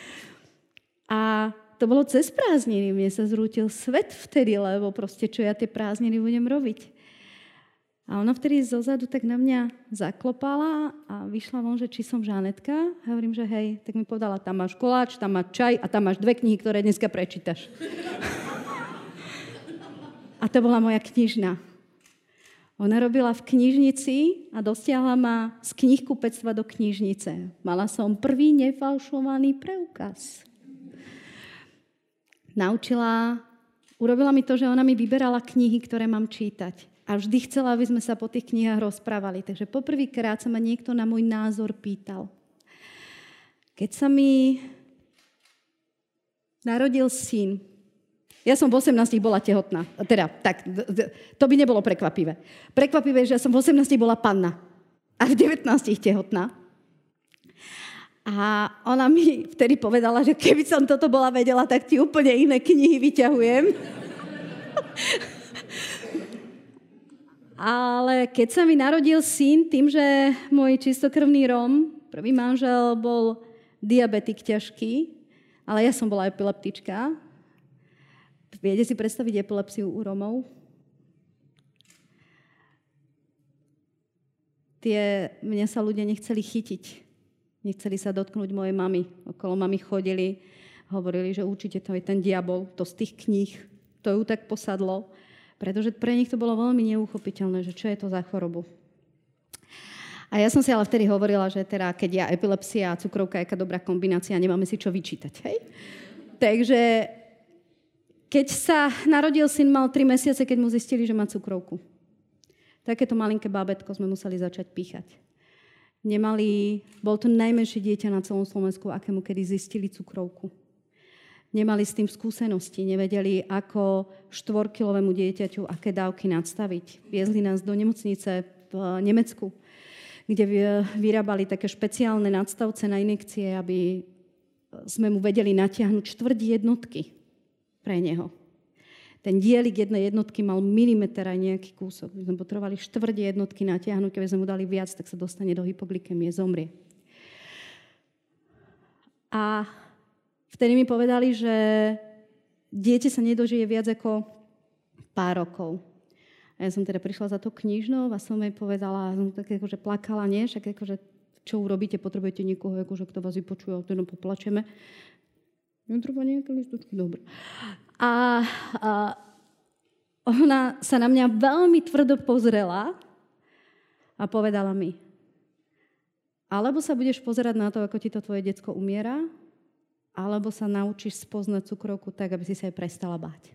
A to bolo cez prázdniny. Mne sa zrútil svet vtedy, lebo proste čo ja tie prázdniny budem robiť. A ona vtedy zozadu tak na mňa zaklopala a vyšla von, že či som Žanetka. A hovorím, že hej. Tak mi povedala, tam máš koláč, tam máš čaj a tam máš dve knihy, ktoré dneska prečítaš. A to bola moja knižná. Ona robila v knižnici a dostiahla ma z knihkupectva do knižnice. Mala som prvý nefalšovaný preukaz. Naučila, urobila mi to, že ona mi vyberala knihy, ktoré mám čítať. A vždy chcela, aby sme sa po tých knihách rozprávali. Takže poprvýkrát sa ma niekto na môj názor pýtal. Keď sa mi narodil syn, ja som v osemnástich bola tehotná. Teda, tak, to by nebolo prekvapivé. Prekvapivé je, že ja som v osemnástich bola panna. A v devätnástich tehotná. A ona mi vtedy povedala, že keby som toto bola vedela, tak ti úplne iné knihy vyťahujem. Ale keď sa mi narodil syn, tým, že môj čistokrvný Róm, prvý manžel, bol diabetik ťažký, ale ja som bola epileptička. Viete si predstaviť epilepsiu u Rómov? tie, mňa sa ľudia nechceli chytiť. Nechceli sa dotknúť mojej mamy. Okolo mamy chodili, hovorili, že určite to je ten diabol, to z tých kníh, to ju tak posadlo. Pretože pre nich to bolo veľmi neuchopiteľné, že čo je to za chorobu. A ja som si ale vtedy hovorila, že teda, keď ja epilepsia a cukrovka, aká dobrá kombinácia, nemáme si čo vyčítať, hej? Takže keď sa narodil syn, mal tri mesiace, keď mu zistili, že má cukrovku. Takéto malinké bábätko sme museli začať píchať. Nemali, bol to najmenšie dieťa na celom Slovensku, akému kedy zistili cukrovku. Nemali s tým skúsenosti, nevedeli, ako štvorkilovému dieťaťu, aké dávky nadstaviť. Viezli nás do nemocnice v Nemecku, kde vyrábali také špeciálne nadstavce na injekcie, aby sme mu vedeli natiahnuť štvrť jednotky pre neho. Ten dielik jednej jednotky mal milimeter aj nejaký kúsok. My sme potrebovali štvrť jednotky natiahnuť, keby sme mu dali viac, tak sa dostane do hypoglykemie, zomrie. A vtedy mi povedali, že dieťa sa nedožije viac ako pár rokov. A ja som teda prišla za to knižnou a som jej povedala, som tak akože plakala, nie? Však akože, čo urobíte, potrebujete niekoho, akože, kto vás vypočuje, a teda poplačeme. Netreba nejaké listočky, dobre. A, a ona sa na mňa veľmi tvrdo pozrela a povedala mi, alebo sa budeš pozerať na to, ako ti to tvoje decko umiera, alebo sa naučíš spoznať cukrovku tak, aby si sa jej prestala báť.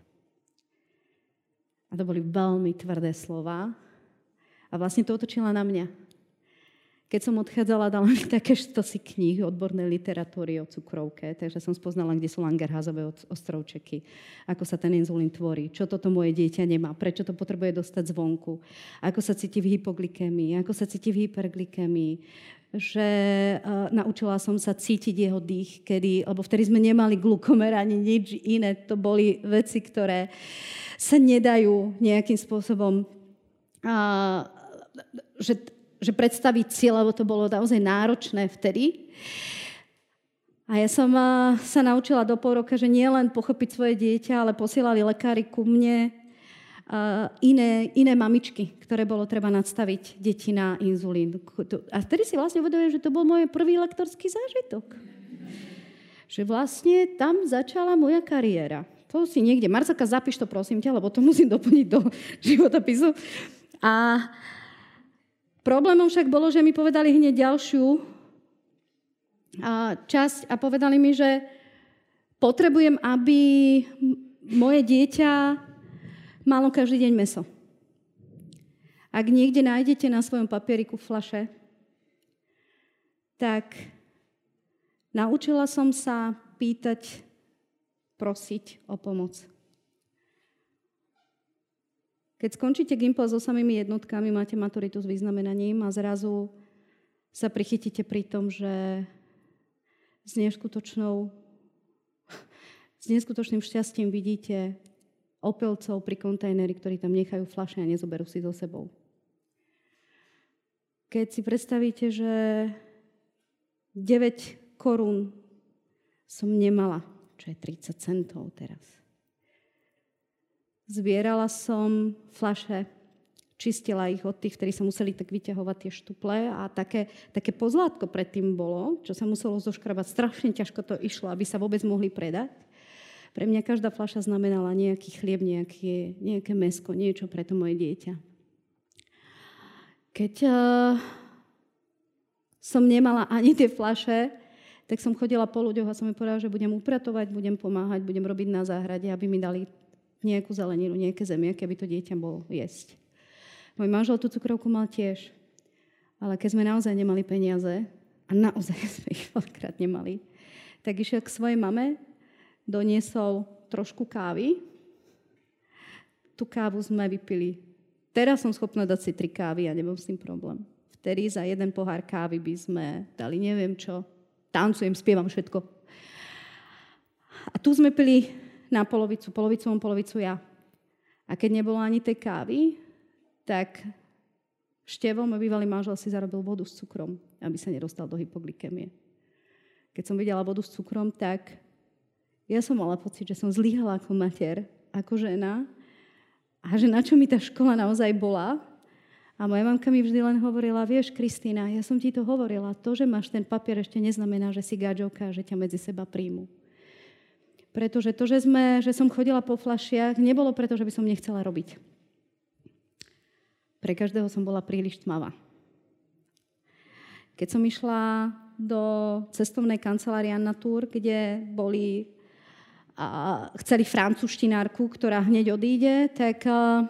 A to boli veľmi tvrdé slova. A vlastne to otočila na mňa. Keď som odchádzala, dala mi také štosy kníh odbornej literatúry o cukrovke, takže som spoznala, kde sú Langerhansové ostrovčeky, ako sa ten inzulín tvorí, čo toto moje dieťa nemá, prečo to potrebuje dostať zvonku, ako sa cíti v hypoglykemii, ako sa cíti v hyperglykemii, že uh, naučila som sa cítiť jeho dých, kedy, lebo vtedy sme nemali glukomer ani nič iné, to boli veci, ktoré sa nedajú nejakým spôsobom, uh, že že predstaviť si, lebo to bolo naozaj náročné vtedy. A ja som sa naučila do pol roka, že nie len pochopiť svoje dieťa, ale posielali lekári ku mne iné, iné mamičky, ktoré bolo treba nadstaviť deti na inzulín. A vtedy si vlastne uvedomujem, že to bol môj prvý lektorský zážitok. Že vlastne tam začala moja kariéra. To si niekde, Marcelka, zapíš to prosím ťa, lebo to musím doplniť do životopisu. A problémom však bolo, že mi povedali hneď ďalšiu časť a povedali mi, že potrebujem, aby moje dieťa malo každý deň mäso. Ak niekde nájdete na svojom papieriku fľaše, tak naučila som sa pýtať, prosiť o pomoc. Keď skončíte Gimpel so samými jednotkami, máte maturitu s vyznamenaním a zrazu sa prichytíte pri tom, že s neskutočnou, s neskutočným šťastím vidíte opelcov pri kontajneri, ktorí tam nechajú fľaše a nezoberú si so sebou. Keď si predstavíte, že deväť korún som nemala, čo je tridsať centov teraz. Zbierala som fľaše, čistila ich od tých, ktorí sa museli tak vyťahovať tie štuple a také, také pozlátko predtým bolo, čo sa muselo zoškrabať. Strašne ťažko to išlo, aby sa vôbec mohli predať. Pre mňa každá fľaša znamenala nejaký chlieb, nejaké, nejaké mäsko, niečo pre to moje dieťa. Keď uh, som nemala ani tie fľaše, tak som chodila po ľuďoch a som mi povedala, že budem upratovať, budem pomáhať, budem robiť na záhrade, aby mi dali nejakú zeleninu, nejaké zemiaky, aby to dieťa bolo jesť. Môj manžel tú cukrovku mal tiež. Ale keď sme naozaj nemali peniaze, a naozaj sme ich veľakrát nemali, tak išiel k svojej mame, doniesol trošku kávy. Tú kávu sme vypili. Teraz som schopná dať si tri kávy a nebol s tým problém. Vtedy za jeden pohár kávy by sme dali neviem čo. Tancujem, spievam všetko. A tu sme pili na polovicu, polovicu on, polovicu ja. A keď nebolo ani tej kávy, tak Števo, môj bývalý manžel, si zarobil vodu s cukrom, aby sa nedostal do hypoglykemie. Keď som videla vodu s cukrom, tak ja som mala pocit, že som zlyhala ako mater, ako žena a že na čo mi tá škola naozaj bola. A moja mamka mi vždy len hovorila, vieš, Kristína, ja som ti to hovorila, to, že máš ten papier, ešte neznamená, že si gáčovka, že ťa medzi seba príjmu. Pretože to, že, sme, že som chodila po fľašiach, nebolo preto, že by som nechcela robiť. Pre každého som bola príliš tmavá. Keď som išla do cestovnej kancelárie na Tour, kde boli a chceli francúzštinárku, ktorá hneď odíde, tak a,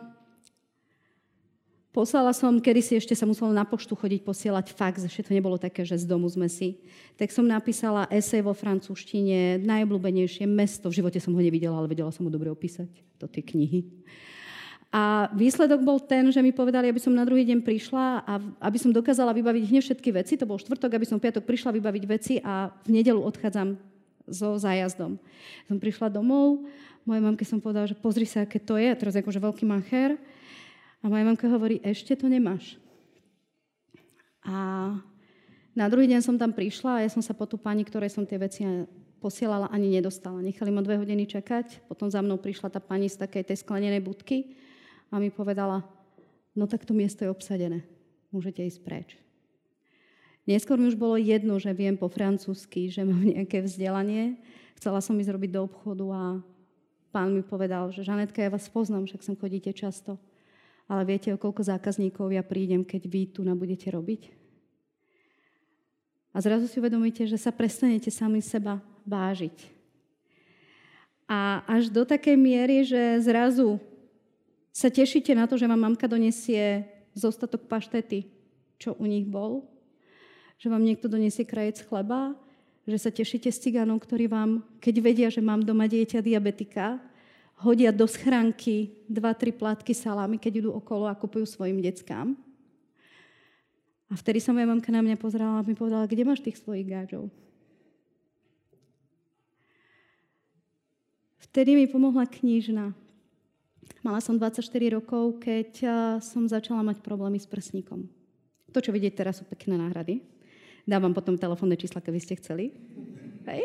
poslala som, kedysi ešte sa muselo na poštu chodiť posielať fax, ešte to nebolo také, že z domu sme si. Tak som napísala esej vo francúzštine, najobľúbenejšie mesto, v živote som ho nevidela, ale vedela som ho dobre opísať do tej knihy. A výsledok bol ten, že mi povedali, aby som na druhý deň prišla a aby som dokázala vybaviť hneď všetky veci, to bol štvrtok, aby som v piatok prišla vybaviť veci a v nedeľu odchádzam so zájazdom. Som prišla domov, mojej mamke som povedala, že pozri sa, aké to je, a teraz akože veľký macher. A moja mamka hovorí, ešte to nemáš. A na druhý deň som tam prišla a ja som sa po tú pani, ktorej som tie veci posielala, ani nedostala. Nechali ma dve hodiny čakať, potom za mnou prišla tá pani z takej tej sklenenej budky a mi povedala, no tak to miesto je obsadené, môžete ísť preč. Neskôr mi už bolo jedno, že viem po francúzsky, že mám nejaké vzdelanie. Chcela som ísť robiť do obchodu a pán mi povedal, že Žanetka, ja vás poznám, však sem chodíte často. Ale viete, o koľko zákazníkov ja prídem, keď vy tu na budete robiť? A zrazu si uvedomíte, že sa prestanete sami seba vážiť. A až do takej miery, že zrazu sa tešíte na to, že vám mamka donesie zostatok paštety, čo u nich bol, že vám niekto donesie krajec chleba, že sa tešíte s cigánov, ktorí vám, keď vedia, že mám doma dieťa diabetika, hodia do schránky dva, tri plátky salámy, keď idú okolo a kupujú svojim deckám. A vtedy sa moja mamka na mňa pozerala a mi povedala, kde máš tých svojich gáčov? Vtedy mi pomohla knižna. Mala som dvadsaťštyri rokov, keď som začala mať problémy s prsníkom. To, čo vidieť teraz, sú pekné náhrady. Dávam potom telefónne čísla, keby ste chceli. Hej.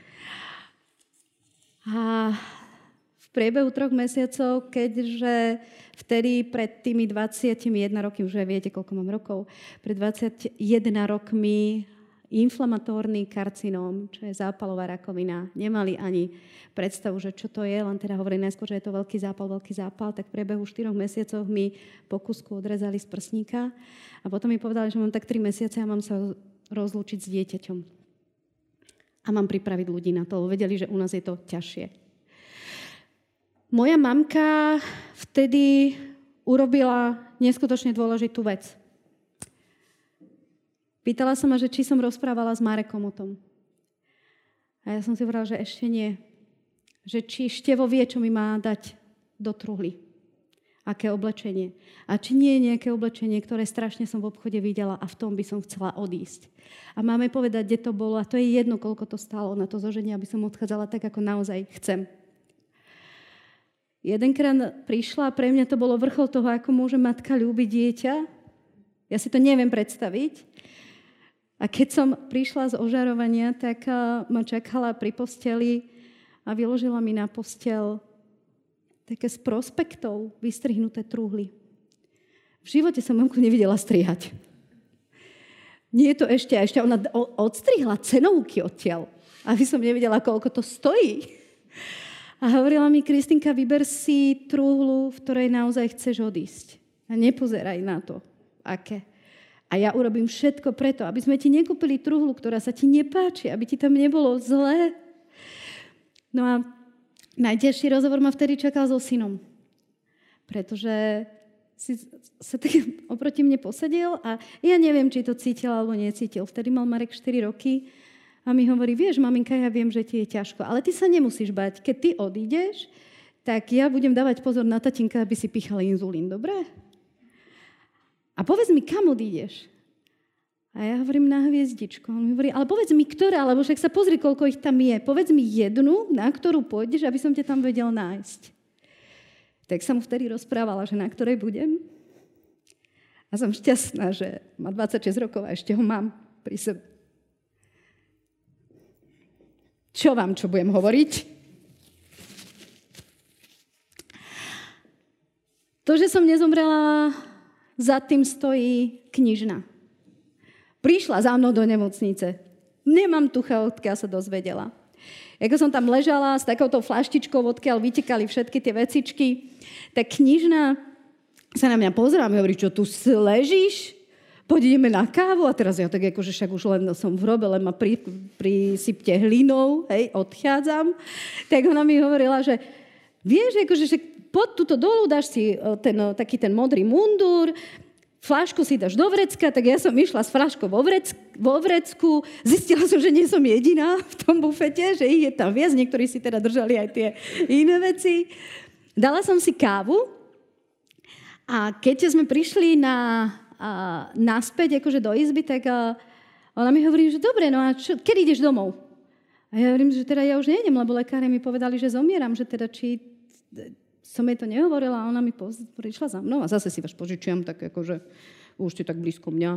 A v priebehu troch mesiacov, keďže vtedy pred tými dvadsiatimi jednými rokmi, už aj viete, koľko mám rokov, pred dvadsiatimi rokmi inflamatórny karcinóm, čo je zápalová rakovina, nemali ani predstavu, že čo to je, len teda hovorím najskôr, že je to veľký zápal, veľký zápal, tak v priebehu štyroch mesiacov mi po kusku odrezali z prsníka a potom mi povedali, že mám tak tri mesiace a mám sa rozlúčiť s dieťaťom. A mám pripraviť ľudí na to, lebo vedeli, že u nás je to ťažšie. Moja mamka vtedy urobila neskutočne dôležitú vec. Pýtala sa ma, že či som rozprávala s Marekom o tom. A ja som si hovorila, že ešte nie. Že či Števo vie, čo mi má dať do truhly. Aké oblečenie. A či nie je nejaké oblečenie, ktoré strašne som v obchode videla a v tom by som chcela odísť. A máme povedať, kde to bolo a to je jedno, koľko to stálo na to zoženie, aby som odchádzala tak, ako naozaj chcem. Jedenkrát prišla a pre mňa to bolo vrchol toho, ako môže matka ľúbiť dieťa. Ja si to neviem predstaviť. A keď som prišla z ožarovania, tak ma čakala pri posteli a vyložila mi na postel také z prospektov vystrihnuté truhly. V živote som mamku nevidela strihať. Nie je to ešte, a ešte ona odstrihla cenovky odtiaľ, aby som nevidela, koľko to stojí. A hovorila mi, Kristinka, vyber si truhlu, v ktorej naozaj chceš odísť. A nepozeraj na to, aké. A ja urobím všetko preto, aby sme ti nekúpili truhlu, ktorá sa ti nepáči, aby ti tam nebolo zlé. No a najťažší rozhovor ma vtedy čakal so synom. Pretože si sa tak oproti mne posedel a ja neviem, či to cítil alebo necítil. Vtedy mal Marek štyri roky a mi hovorí, vieš, maminka, ja viem, že ti je ťažko, ale ty sa nemusíš bať. Keď ty odídeš, tak ja budem dávať pozor na tatínka, aby si píchal inzulín, dobre? A povedz mi, kam odídeš? A ja hovorím na hviezdičku. On mi hovorí, ale povedz mi, ktorá, lebo však sa pozri, koľko ich tam je. Povedz mi jednu, na ktorú pôjdeš, aby som ťa tam vedel nájsť. Tak som mu vtedy rozprávala, že na ktorej budem. A som šťastná, že má dvadsaťšesť rokov a ešte ho mám pri sebe. Čo vám, čo budem hovoriť? To, že som nezomrela za tým stojí knižna. Prišla za mnou do nemocnice. Nemám tucha, odkiaľ sa dozvedela. Ako som tam ležala s takouto flaštičkou, odkiaľ vytekali všetky tie vecičky, tak knižna sa na mňa pozerá a mi hovorí, čo tu ležíš? Poď ideme na kávu. A teraz ja tak akože však už len som v hrobe, len ma pri, prisypte hlinou, hej, odchádzam. Tak ona mi hovorila, že vieš, akože že poď tuto dolu, dáš si ten, taký ten modrý mundúr, fľašku si dáš do vrecka, tak ja som išla s fľaškou vo, vrec, vo vrecku, zistila som, že nie som jediná v tom bufete, že ich je tam viac, niektorí si teda držali aj tie iné veci. Dala som si kávu a keď sme prišli na, a, naspäť akože do izby, tak a, ona mi hovorí, že dobre, no a čo, kedy ideš domov? A ja hovorím, že teda ja už nejdem, lebo lekári mi povedali, že zomieram, že teda či som jej to nehovorila a ona mi poz- prišla za mnou a zase si vás požičiam, tak akože už ste tak blízko mňa.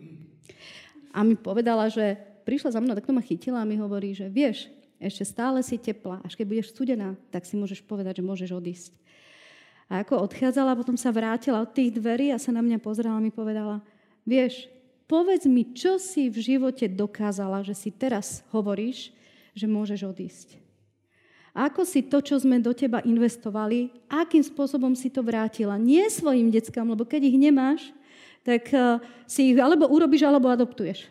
A mi povedala, že prišla za mnou, tak to ma chytila a mi hovorí, že vieš, ešte stále si teplá, až keď budeš studená, tak si môžeš povedať, že môžeš odísť. A ako odchádzala, potom sa vrátila od tých dverí a sa na mňa pozrela a mi povedala, vieš, povedz mi, čo si v živote dokázala, že si teraz hovoríš, že môžeš odísť. A ako si to, čo sme do teba investovali, akým spôsobom si to vrátila. Nie svojim deckám, lebo keď ich nemáš, tak si ich alebo urobíš, alebo adoptuješ.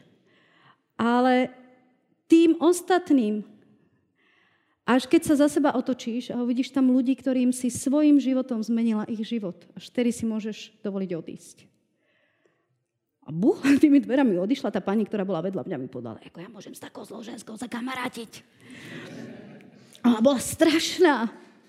Ale tým ostatným, až keď sa za seba otočíš a uvidíš tam ľudí, ktorým si svojim životom zmenila ich život, až vtedy si môžeš dovoliť odísť. A buch, tými dverami odišla tá pani, ktorá bola vedľa mňa, mi povedala, ako ja môžem s takou zlou ženskou zakamarátiť. A ona bola strašná.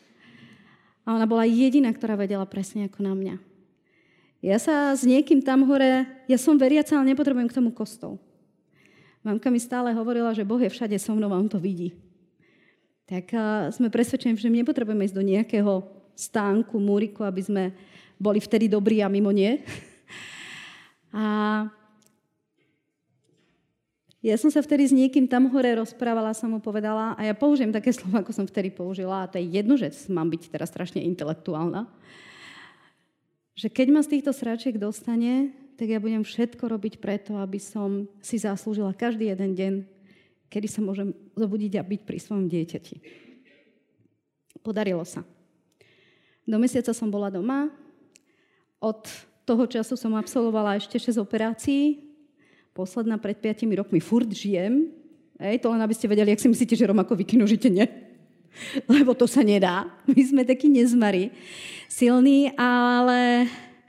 A ona bola jediná, ktorá vedela presne ako na mňa. Ja sa s niekým tam hore, ja som veriaca, ale nepotrebujem k tomu kostol. Mamka mi stále hovorila, že Boh je všade so mnou a on to vidí. Tak sme presvedčení, že nepotrebujeme ísť do nejakého stánku, múriku, aby sme boli vtedy dobrí a mimo nie. A ja som sa vtedy s niekým tam hore rozprávala, som mu povedala, a ja použijem také slovo, ako som vtedy použila, a to je jedno, že mám byť teraz strašne intelektuálna, že keď ma z týchto sračiek dostane, tak ja budem všetko robiť preto, aby som si zaslúžila každý jeden deň, kedy sa môžem zobudiť a byť pri svojom dieťati. Podarilo sa. Do mesiaca som bola doma, od toho času som absolvovala ešte šesť operácií, posledná pred piatimi rokmi, furt žijem. Ej, to len aby ste vedeli, jak si myslíte, že Romakovi kinožite nie. Lebo to sa nedá. My sme takí nezmari silní, ale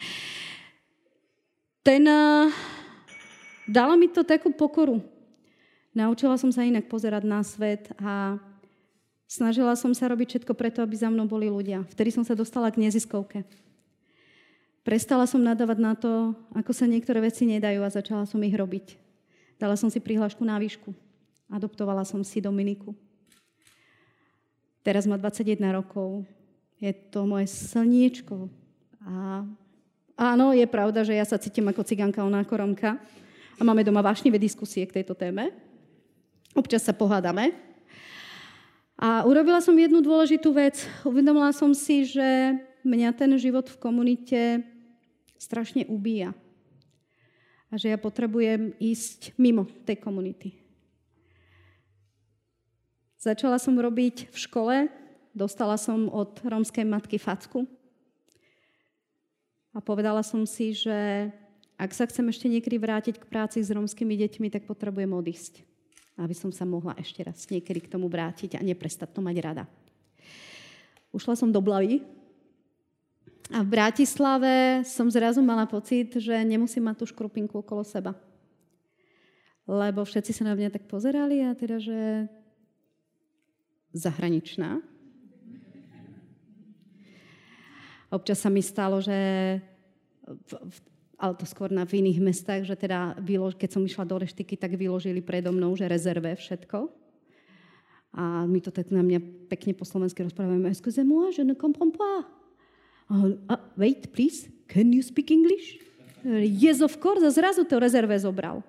ten uh, dalo mi to takú pokoru. Naučila som sa inak pozerať na svet a snažila som sa robiť všetko preto, aby za mnou boli ľudia. Vtedy som sa dostala k neziskovke. Prestala som nadávať na to, ako sa niektoré veci nedajú a začala som ich robiť. Dala som si prihlášku na výšku. Adoptovala som si Dominiku. Teraz má dvadsaťjeden rokov. Je to moje slniečko. A áno, je pravda, že ja sa cítim ako cigánka, ona ako Romka. A máme doma vášnivé diskusie k tejto téme. Občas sa pohádame. A urobila som jednu dôležitú vec. Uvedomila som si, že mňa ten život v komunite strašne ubíja. A že ja potrebujem ísť mimo tej komunity. Začala som robiť v škole, dostala som od rómskej matky facku a povedala som si, že ak sa chcem ešte niekedy vrátiť k práci s rómskymi deťmi, tak potrebujem odísť. Aby som sa mohla ešte raz niekedy k tomu vrátiť a neprestať to mať rada. Ušla som do Blavy, a v Bratislave som zrazu mala pocit, že nemusím mať tú škrupinku okolo seba. Lebo všetci sa na mňa tak pozerali a teda, že zahraničná. Občas sa mi stalo, že v, v, ale to skôr na v iných mestách, že teda keď som išla do reštiky, tak vyložili predo mnou, že rezerve všetko. A my to tak na mňa pekne po slovensky rozprávame. Excusez-moi, je ne comprends pas. Uh, wait, please, can you speak English? Yes, of course. A zrazu to rezerve zobral.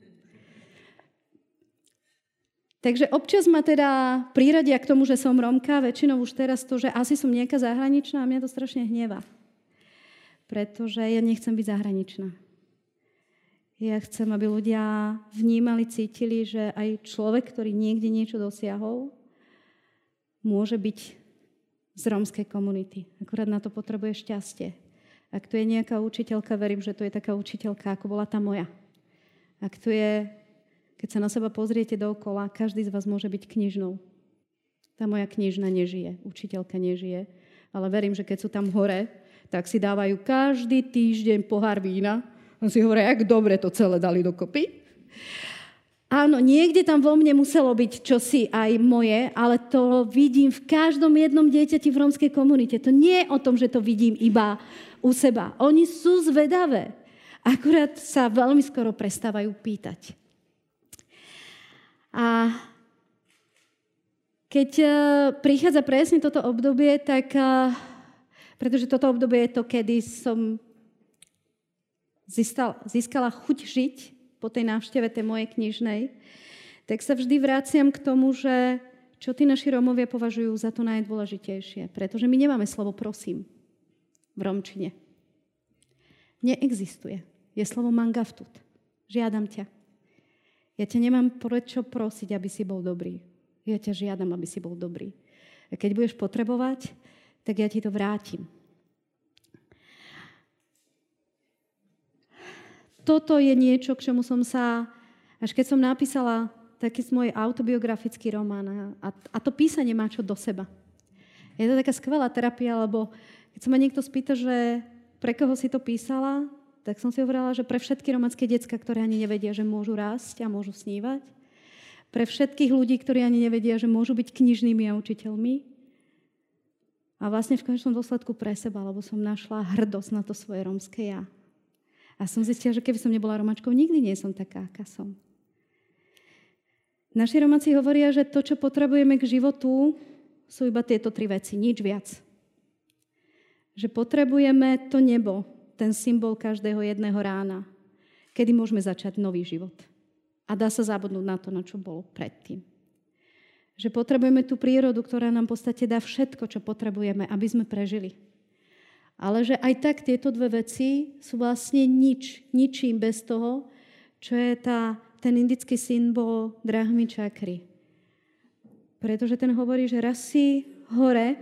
Takže občas ma teda priradia k tomu, že som Rómka, väčšinou už teraz to, že asi som nejaká zahraničná a mňa to strašne hnevá. pretože ja nechcem byť zahraničná. Ja chcem, aby ľudia vnímali, cítili, že aj človek, ktorý niekde niečo dosiahol, môže byť z rómskej komunity. Akurát na to potrebuje šťastie. Ak tu je nejaká učiteľka, verím, že to je taká učiteľka, ako bola tá moja. Ak tu je, keď sa na seba pozriete dookola, každý z vás môže byť knižnou. Tá moja knižna nežije, učiteľka nežije, ale verím, že keď sú tam hore, tak si dávajú každý týždeň pohár vína a si hovoria, jak dobre to celé dali dokopy. Áno, niekde tam vo mne muselo byť čosi aj moje, ale to vidím v každom jednom dieťati v rómskej komunite. To nie je o tom, že to vidím iba u seba. Oni sú zvedavé. Akurát sa veľmi skoro prestávajú pýtať. A keď prichádza presne toto obdobie, tak pretože toto obdobie je to, kedy som Získala, získala chuť žiť po tej návšteve tej mojej knižnej, tak sa vždy vraciam k tomu, že čo tí naši Rómovia považujú za to najdôležitejšie. Pretože my nemáme slovo prosím v rómčine. Neexistuje. Je slovo mangaftut. Žiadam ťa. Ja ťa nemám prečo prosiť, aby si bol dobrý. Ja ťa žiadam, aby si bol dobrý. A keď budeš potrebovať, tak ja ti to vrátim. Toto je niečo, k čomu som sa, až keď som napísala taký môj autobiografický román, a, a to písanie má čo do seba. Je to taká skvelá terapia, lebo keď sa ma niekto spýta, že pre koho si to písala, tak som si hovorila, že pre všetky románske decká, ktoré ani nevedia, že môžu rásť a môžu snívať, pre všetkých ľudí, ktorí ani nevedia, že môžu byť knižnými a učiteľmi, a vlastne v konečnom dôsledku pre seba, lebo som našla hrdosť na to svoje rómske ja. A som zistila, že keby som nebola Romáčkou, nikdy nie som taká, aká som. Naši Romáci hovoria, že to, čo potrebujeme k životu, sú iba tieto tri veci, nič viac. Že potrebujeme to nebo, ten symbol každého jedného rána, kedy môžeme začať nový život. A dá sa zabudnúť na to, na čo bolo predtým. Že potrebujeme tú prírodu, ktorá nám v podstate dá všetko, čo potrebujeme, aby sme prežili. Ale že aj tak tieto dve veci sú vlastne nič, ničím bez toho, čo je tá, ten indický symbol Brahmy čakry. Pretože ten hovorí, že raz si hore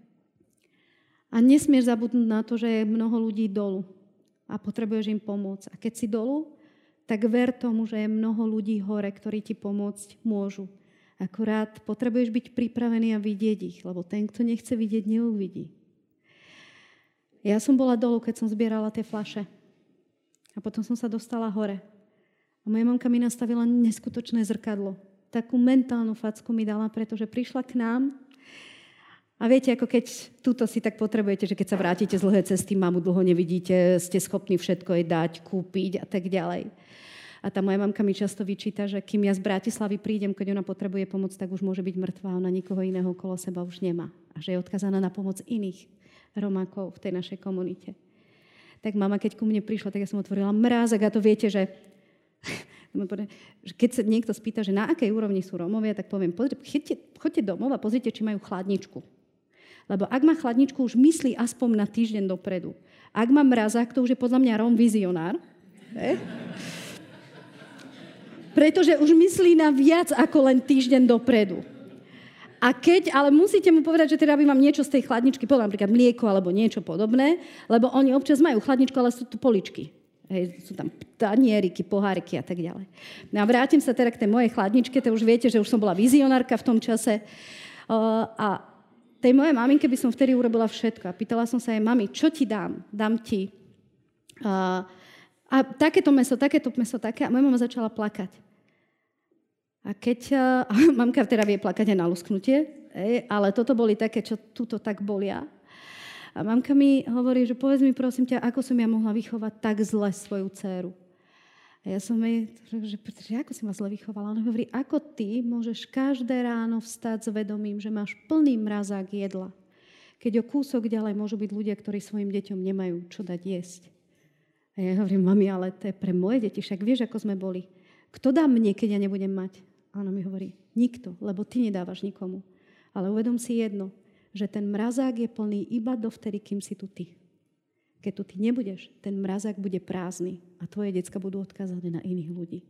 a nesmieš zabudnúť na to, že je mnoho ľudí dolu a potrebuješ im pomôcť. A keď si dolu, tak ver tomu, že je mnoho ľudí hore, ktorí ti pomôcť môžu. Akurát potrebuješ byť pripravený a vidieť ich, lebo ten, kto nechce vidieť, neuvidí. Ja som bola dolu, keď som zbierala tie fľaše. A potom som sa dostala hore. A moja mamka mi nastavila neskutočné zrkadlo. Takú mentálnu facku mi dala, pretože prišla k nám. A viete, ako keď túto si tak potrebujete, že keď sa vrátite z dlhé cesty, mamu dlho nevidíte, ste schopní všetko jej dať, kúpiť a tak ďalej. A tá moja mamka mi často vyčíta, že kým ja z Bratislavy prídem, keď ona potrebuje pomoc, tak už môže byť mŕtvá, ona nikoho iného okolo seba už nemá. A že je odkazaná na pomoc iných Romákov v tej našej komunite. Tak mama, keď ku mne prišla, tak ja som otvorila mrázek a to viete, že keď sa niekto spýta, že na akej úrovni sú Rómovia, tak poviem, chodte, chodte domov a pozrite, či majú chladničku. Lebo ak má chladničku, už myslí aspoň na týždeň dopredu. Ak má mrazák, to už je podľa mňa Róm vizionár. Ne? Pretože už myslí na viac ako len týždeň dopredu. A keď, ale musíte mu povedať, že teda by vám niečo z tej chladničky, povedal napríklad mlieko alebo niečo podobné, lebo oni občas majú chladničku, ale sú tu poličky. Hej, sú tam tanieriky, poháriky a tak ďalej. No a vrátim sa teda k tej mojej chladničke, to už viete, že už som bola vizionárka v tom čase. Uh, a tej mojej maminke by som vtedy urobila všetko. A pýtala som sa jej, mami, čo ti dám? Dám ti uh, a takéto meso, takéto meso, také. A moja mama začala plakať. A keď, uh, mamka teda vie plakať aj na lusknutie, ej, ale toto boli také, čo túto tak bolia. A mamka mi hovorí, že povedz mi prosím ťa, ako som ja mohla vychovať tak zle svoju dcéru. A ja som jej, že, že ako si ma zle vychovala? Ona hovorí, ako ty môžeš každé ráno vstať s vedomím, že máš plný mrazák jedla. Keď o kúsok ďalej môžu byť ľudia, ktorí svojim deťom nemajú čo dať jesť. A ja hovorím, mami, ale to je pre moje deti, však vieš, ako sme boli. Kto dá mne, keď ja nebudem mať? A ona mi hovorí, nikto, lebo ty nedávaš nikomu. Ale uvedom si jedno, že ten mrazák je plný iba dovtedy, kým si tu ty. Keď tu ty nebudeš, ten mrazák bude prázdny a tvoje decka budú odkázané na iných ľudí.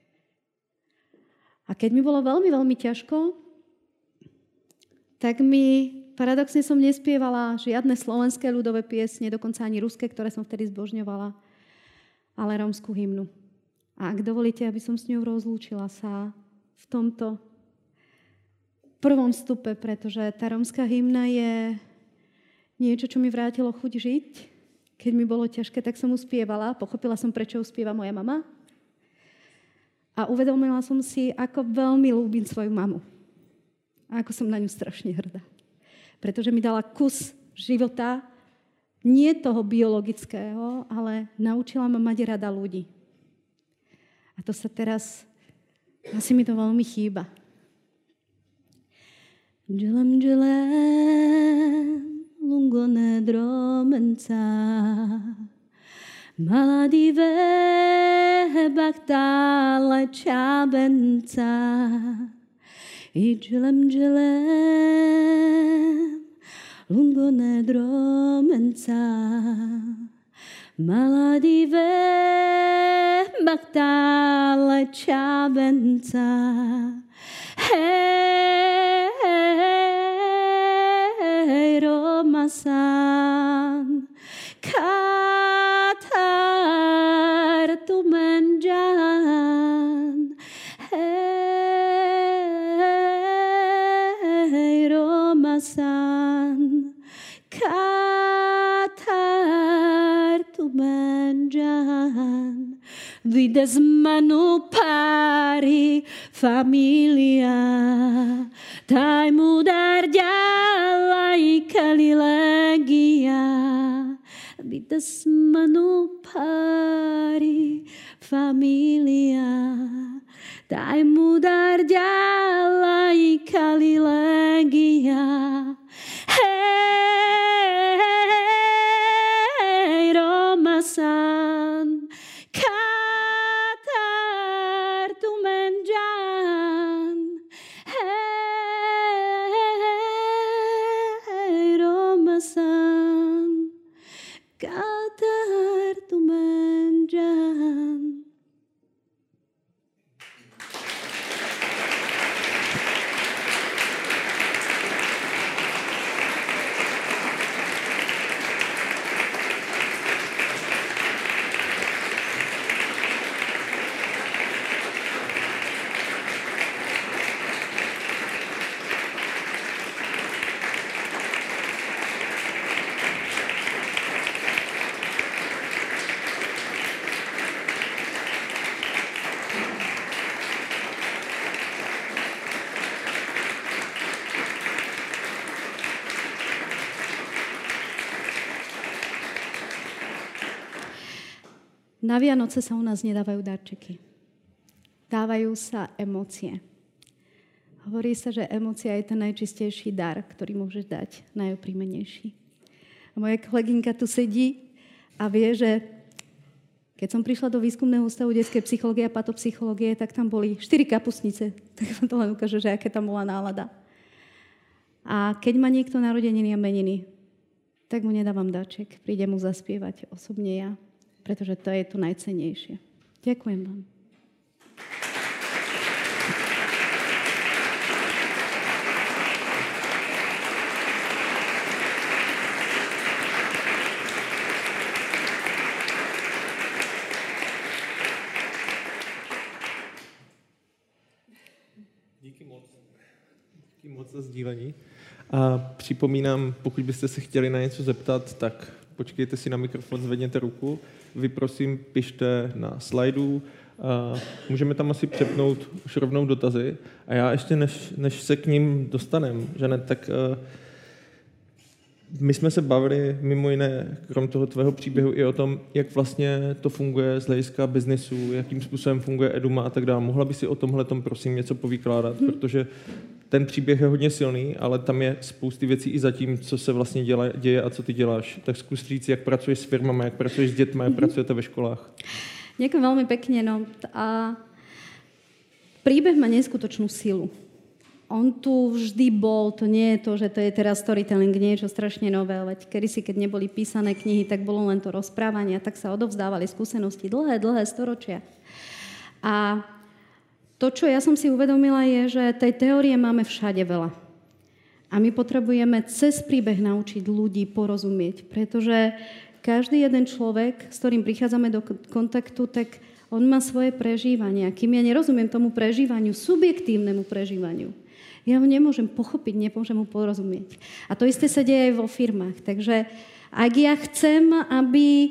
A keď mi bolo veľmi, veľmi ťažko, tak mi paradoxne som nespievala žiadne slovenské ľudové piesne, dokonca ani ruské, ktoré som vtedy zbožňovala, ale rómsku hymnu. A ak dovolíte, aby som s ňou rozlúčila sa v tomto prvom stupe, pretože tá rómska hymna je niečo, čo mi vrátilo chuť žiť. Keď mi bolo ťažké, tak som ju spievala. Pochopila som, prečo ju spieva moja mama. A uvedomila som si, ako veľmi ľúbim svoju mamu. A ako som na ňu strašne hrdá. Pretože mi dala kus života, nie toho biologického, ale naučila ma mať rada ľudí. A to sa teraz, asi mi to veľmi chýba. Dželem, dželem, lungo nedromenca, maladive baktale čabenca, i dželem, dželem, lungo nedromenca, maladive baktale čabenca, hej, hej, Romasan, katar tu menjan, hej, Romasan, katar tu menjan, vides manu pari familia, taj mudar ďalej kalilegia, vides manu pari familia, taj mudar ďalej kalilegia, hej, Romasan, katar tu menjan, hej, Romasan, katar tu menjan. Na Vianoce sa u nás nedávajú darčeky. Dávajú sa emócie. Hovorí sa, že emócia je ten najčistejší dar, ktorý môžeš dať, najoprímenejší. A moja kolegynka tu sedí a vie, že keď som prišla do výskumného ústavu detskej psychológie a patopsychológie, tak tam boli štyri kapustnice. Tak vám to len ukáže, že aké tam bola nálada. A keď má niekto narodeniny a meniny, tak mu nedávam darček. Príde mu zaspievať osobne ja. Pretože to je to najcennejšie. Ďakujem vám. Díky moc. Díky moc za sdílení. A připomínám, pokud byste se chtěli na něco zeptat, tak počkejte si na mikrofon, zvedněte ruku. Vy prosím pište na slajdu. A můžeme tam asi přepnout už rovnou dotazy. A já ještě, než, než se k ním dostanem, Žanet, tak uh, my jsme se bavili mimo jiné, krom toho tvého příběhu, i o tom, jak vlastně to funguje z hlediska biznesu, jakým způsobem funguje Eduma a tak dále. Mohla by si o tomhletom prosím něco povykládat, hmm. protože ten příběh je hodně silný, ale tam je spousty věcí i za tím, co se vlastně děla, děje a co ty děláš. Tak zkus říct, jak pracuješ s firmami, jak pracuješ s dětmi, jak pracujete ve školách. Ďakujem veľmi pekne. No. A príbeh má neskutočnú silu. on tu vždy bol, to nie je to, že to je teraz storytelling, niečo strašne nové, veď kedysi, keď neboli písané knihy, tak bolo len to rozprávanie, tak sa odovzdávali skúsenosti dlhé, dlhé storočia. A to, čo ja som si uvedomila, je, že tej teórie máme všade veľa. A my potrebujeme cez príbeh naučiť ľudí porozumieť, pretože každý jeden človek, s ktorým prichádzame do kontaktu, tak on má svoje prežívania. Kým ja nerozumiem tomu prežívaniu, subjektívnemu prežívaniu, ja ho nemôžem pochopiť, nemôžem mu porozumieť. A to isté sa deje aj vo firmách. Takže ak ja chcem, aby,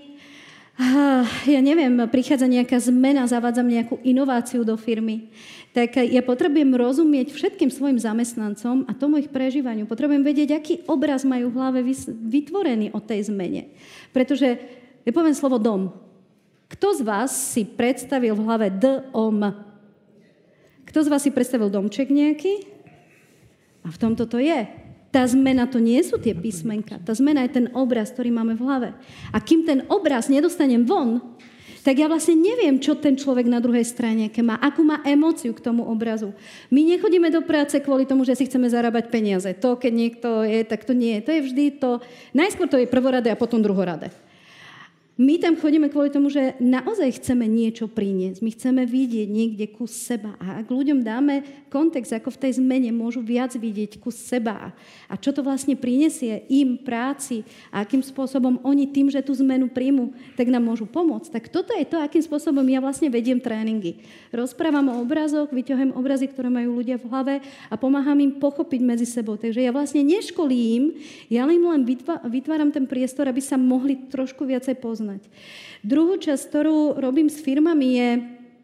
ja neviem, prichádza nejaká zmena, zavádzam nejakú inováciu do firmy, tak ja potrebujem rozumieť všetkým svojim zamestnancom a tomu ich prežívaniu. Potrebujem vedieť, aký obraz majú v hlave vytvorený o tej zmene. Pretože, ja poviem slovo dom. Kto z vás si predstavil v hlave D-O-M? Kto z vás si predstavil domček nejaký? A v tomto to je. Tá zmena to nie sú tie písmenka. Tá zmena je ten obraz, ktorý máme v hlave. A kým ten obraz nedostanem von, tak ja vlastne neviem, čo ten človek na druhej strane, aké má, akú má emóciu k tomu obrazu. My nechodíme do práce kvôli tomu, že si chceme zarábať peniaze. To, keď niekto je, tak to nie je. To je vždy to, najskôr to je prvoradé a potom druhoradé. My tam chodíme kvôli tomu, že naozaj chceme niečo priniesť. My chceme vidieť niekde kus seba. A ak ľuďom dáme kontext, ako v tej zmene môžu viac vidieť kus seba a čo to vlastne prinesie im práci a akým spôsobom oni tým, že tú zmenu príjmu, tak nám môžu pomôcť. Tak toto je to, akým spôsobom ja vlastne vediem tréningy. Rozprávam o obrazoch, vyťahujem obrazy, ktoré majú ľudia v hlave a pomáham im pochopiť medzi sebou. Takže ja vlastne neškolím, ja im len vytváram ten priestor, aby sa mohli trošku viacej poznať. Druhú časť, ktorú robím s firmami, je,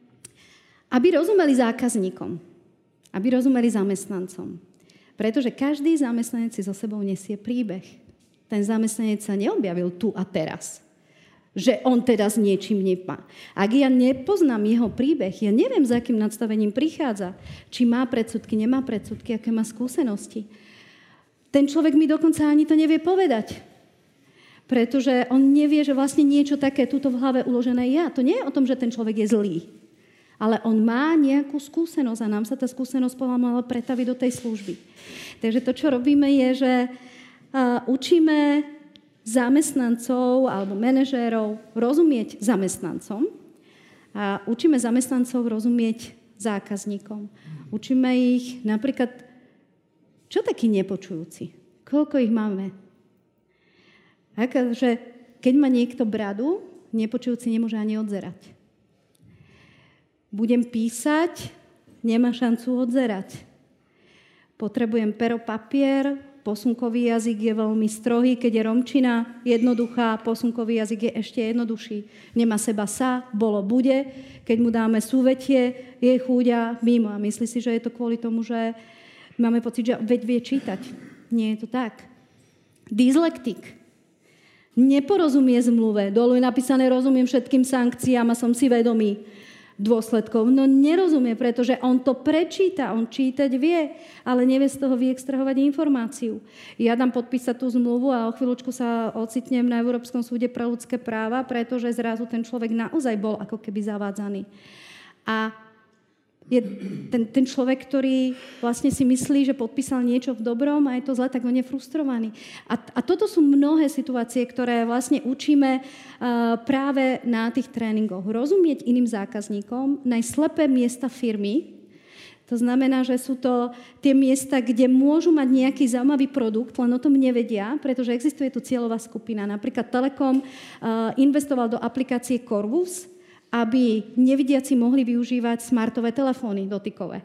aby rozumeli zákazníkom, aby rozumeli zamestnancom. Pretože každý zamestnanec si so sebou nesie príbeh. Ten zamestnanec sa neobjavil tu a teraz, že on teda s niečím nepá. Ak ja nepoznám jeho príbeh, ja neviem, za akým nadstavením prichádza, či má predsudky, nemá predsudky, aké má skúsenosti. Ten človek mi dokonca ani to nevie povedať. Pretože on nevie, že vlastne niečo také tuto v hlave uložené ja. To nie je o tom, že ten človek je zlý. Ale on má nejakú skúsenosť a nám sa tá skúsenosť mala pretaviť do tej služby. Takže to, čo robíme, je, že uh, učíme zamestnancov alebo manažérov rozumieť zamestnancom a učíme zamestnancov rozumieť zákazníkom. Učíme ich napríklad, čo takí nepočujúci? Koľko ich máme? Že keď má niekto bradu, nepočujúci nemôže ani odzerať. Budem písať, nemá šancu odzerať. Potrebujem pero, papier, posunkový jazyk je veľmi strohý, keď je romčina jednoduchá, posunkový jazyk je ešte jednoduchší. Nemá seba sa, bolo, bude. Keď mu dáme súvetie, je chúďa mimo a myslí si, že je to kvôli tomu, že máme pocit, že veď vie čítať. Nie je to tak. Dyslektik. Neporozumie zmluve. Dolu je napísané, rozumiem všetkým sankciám a som si vedomý dôsledkov. No nerozumie, pretože on to prečíta, on čítať vie, ale nevie z toho vyextrahovať informáciu. Ja dám podpísať tú zmluvu a o chvíľučku sa ocitnem na Európskom súde pre ľudské práva, pretože zrazu ten človek naozaj bol ako keby zavádzaný. A je ten, ten človek, ktorý vlastne si myslí, že podpísal niečo v dobrom a je to zle, tak on je frustrovaný. A, a toto sú mnohé situácie, ktoré vlastne učíme uh, práve na tých tréningoch. Rozumieť iným zákazníkom, nájsť slepé miesta firmy. To znamená, že sú to tie miesta, kde môžu mať nejaký zaujímavý produkt, len o tom nevedia, pretože existuje tu cieľová skupina. Napríklad Telekom uh, investoval do aplikácie Corvus, aby nevidiaci mohli využívať smartové telefóny dotykové.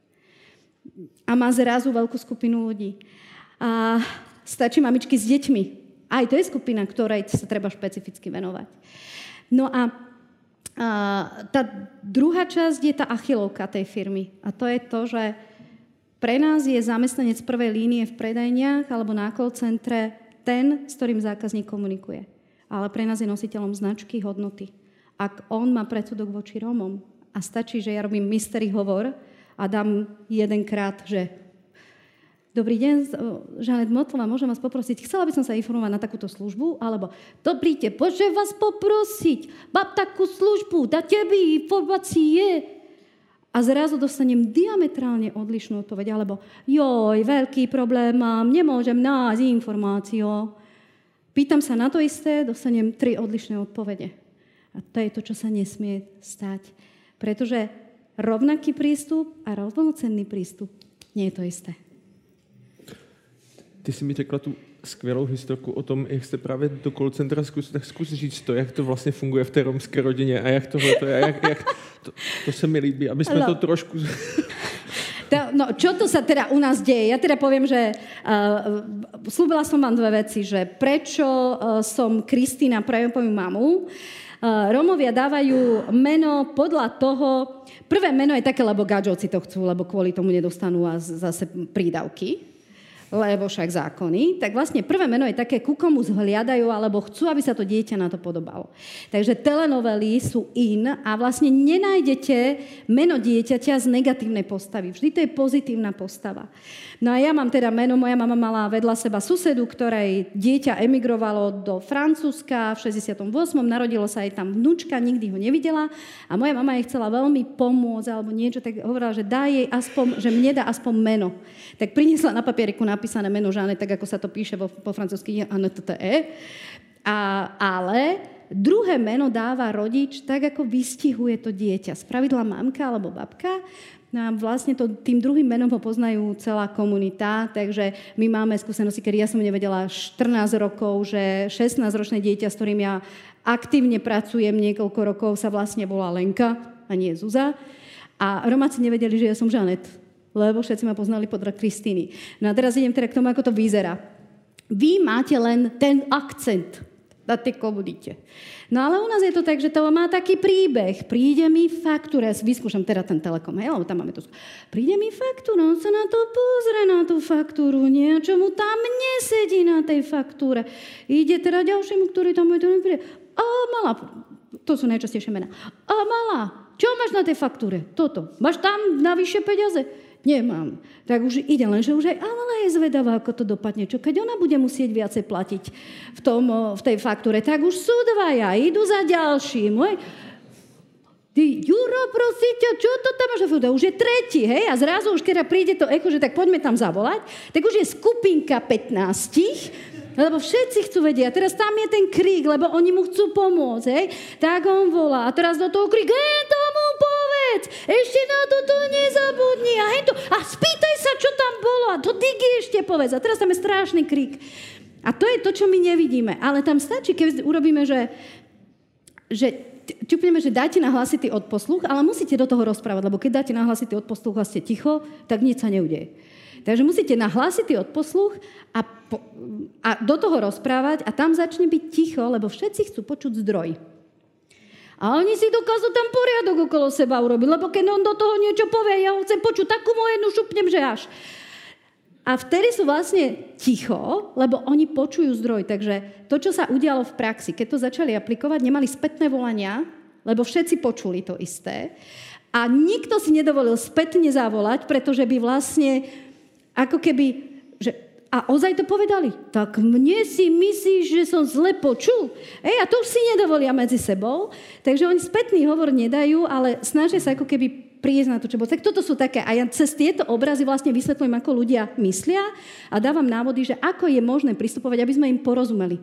A má zrazu veľkú skupinu ľudí. A stačí mamičky s deťmi. Aj to je skupina, ktorej sa treba špecificky venovať. No a, a tá druhá časť je tá achilovka tej firmy. A to je to, že pre nás je zamestnanec prvej línie v predajniach alebo na call centre ten, s ktorým zákazník komunikuje. Ale pre nás je nositeľom značky, hodnoty. Ak on má predsudok voči Rómom a stačí, že ja robím mystery hovor a dám jedenkrát, že dobrý deň, Žanet Motlová, môžem vás poprosiť, chcela by som sa informovať na takúto službu, alebo dobrý deň, môžem vás poprosiť, mám takú službu, dáte mi informácie. A zrazu dostanem diametrálne odlišnú odpoveď, alebo joj, veľký problém mám, nemôžem nájsť informáciu. Pýtam sa na to isté, dostanem tri odlišné odpovede. A to je to, čo sa nesmie stať. Pretože rovnaký prístup a rovnocenný prístup nie je to isté. Ty si mi řekla tu skvělou historku o tom, jak jste právě do call centra zkus, tak zkus říct to, jak to vlastně funguje v té romské rodině a jak tohle to je. Jak, jak to, to se mi líbí, aby jsme no. to trošku... No, čo to sa teda u nás deje? Ja teda poviem, že uh, slúbila som vám dve veci, že prečo uh, som Kristína, prajem po mamu. Uh, Rómovia dávajú meno podľa toho, prvé meno je také, lebo gadžovci to chcú, lebo kvôli tomu nedostanú a zase prídavky, lebo však zákony, tak vlastne prvé meno je také, ku komu zhliadajú, alebo chcú, aby sa to dieťa na to podobalo. Takže telenovely sú in a vlastne nenájdete meno dieťaťa z negatívnej postavy. Vždy to je pozitívna postava. No a ja mám teda meno, moja mama mala vedľa seba susedu, ktorej dieťa emigrovalo do Francúzska v šesťdesiatom ôsmom Narodilo sa jej tam vnúčka, nikdy ho nevidela a moja mama jej chcela veľmi pomôcť alebo niečo, tak hovorila, že dá jej aspoň, že mne dá aspoň meno. Tak priniesla na papieriku napísané meno Žanet, tak ako sa to píše po, po francúzsky Anette. A, ale druhé meno dáva rodič tak, ako vystihuje to dieťa. Spravidla mamka alebo babka. No a vlastne to, tým druhým menom ho poznajú celá komunita, takže my máme skúsenosti, kedy ja som nevedela štrnásť rokov, že šestnásťročné dieťa, s ktorým ja aktívne pracujem niekoľko rokov, sa vlastne volá Lenka a nie Zuza. A Romáci nevedeli, že ja som Žanet, lebo všetci ma poznali podľa Kristýny. No a teraz idem teda k tomu, ako to vyzerá. Vy máte len ten akcent na tej komunite. No ale u nás je to tak, že to má taký príbeh. Príde mi faktúra, ja vyskúšam teda ten Telekom, hej, lebo tam máme to. Príde mi faktúra, on sa na to pozrie, na tú faktúru, niečo mu tam nesedí na tej faktúre. Ide teda ďalšiemu, ktorý tam je to nepríde. A malá, to sú najčastejšie mená. A malá, čo máš na tej faktúre? Toto. Máš tam navyše peniaze? Nemám. Tak už ide len, že už aj Amela je zvedavá, ako to dopadne. Čo keď ona bude musieť viacej platiť v, tom, v tej faktúre, tak už sú dvaja, idú za ďalším. Hej. Ty, Juro, prosíte, čo to tam máš? Už je tretí, hej? A zrazu už, keď príde to echo, že tak poďme tam zavolať, tak už je skupinka pätnástich, lebo všetci chcú vedieť. A teraz tam je ten krík, lebo oni mu chcú pomôcť, hej? Tak on volá. A teraz do toho krík, hej, tomu povedz, ešte na toto nezabudni. A, hej, to, a spýtaj sa, čo tam bolo. A to Digi ešte povedz. A teraz tam je strašný krík. A to je to, čo my nevidíme. Ale tam stačí, keď urobíme, že, že ťupneme, že dáte na hlasitý odposluch, ale musíte do toho rozprávať, lebo keď dáte na hlasitý odposluch a ste ticho, tak nič sa neudeje. Takže musíte na hlasitý odposluch a, po, a do toho rozprávať a tam začne byť ticho, lebo všetci chcú počuť zdroj. A oni si dokážu tam poriadok okolo seba urobiť, lebo keď on do toho niečo povie, ja ho chcem počuť, takú mu jednu šupnem, že až. A vtedy sú vlastne ticho, lebo oni počujú zdroj. Takže to, čo sa udialo v praxi, keď to začali aplikovať, nemali spätné volania, lebo všetci počuli to isté. A nikto si nedovolil spätne zavolať, pretože by vlastne ako keby, že, a ozaj to povedali, tak mne si myslíš, že som zle počul? Ej, a to už si nedovolia medzi sebou. Takže oni spätný hovor nedajú, ale snažia sa ako keby prísť na to, čo bolo. Tak toto sú také. A ja cez tieto obrazy vlastne vysvetľujem, ako ľudia myslia a dávam návody, že ako je možné pristupovať, aby sme im porozumeli.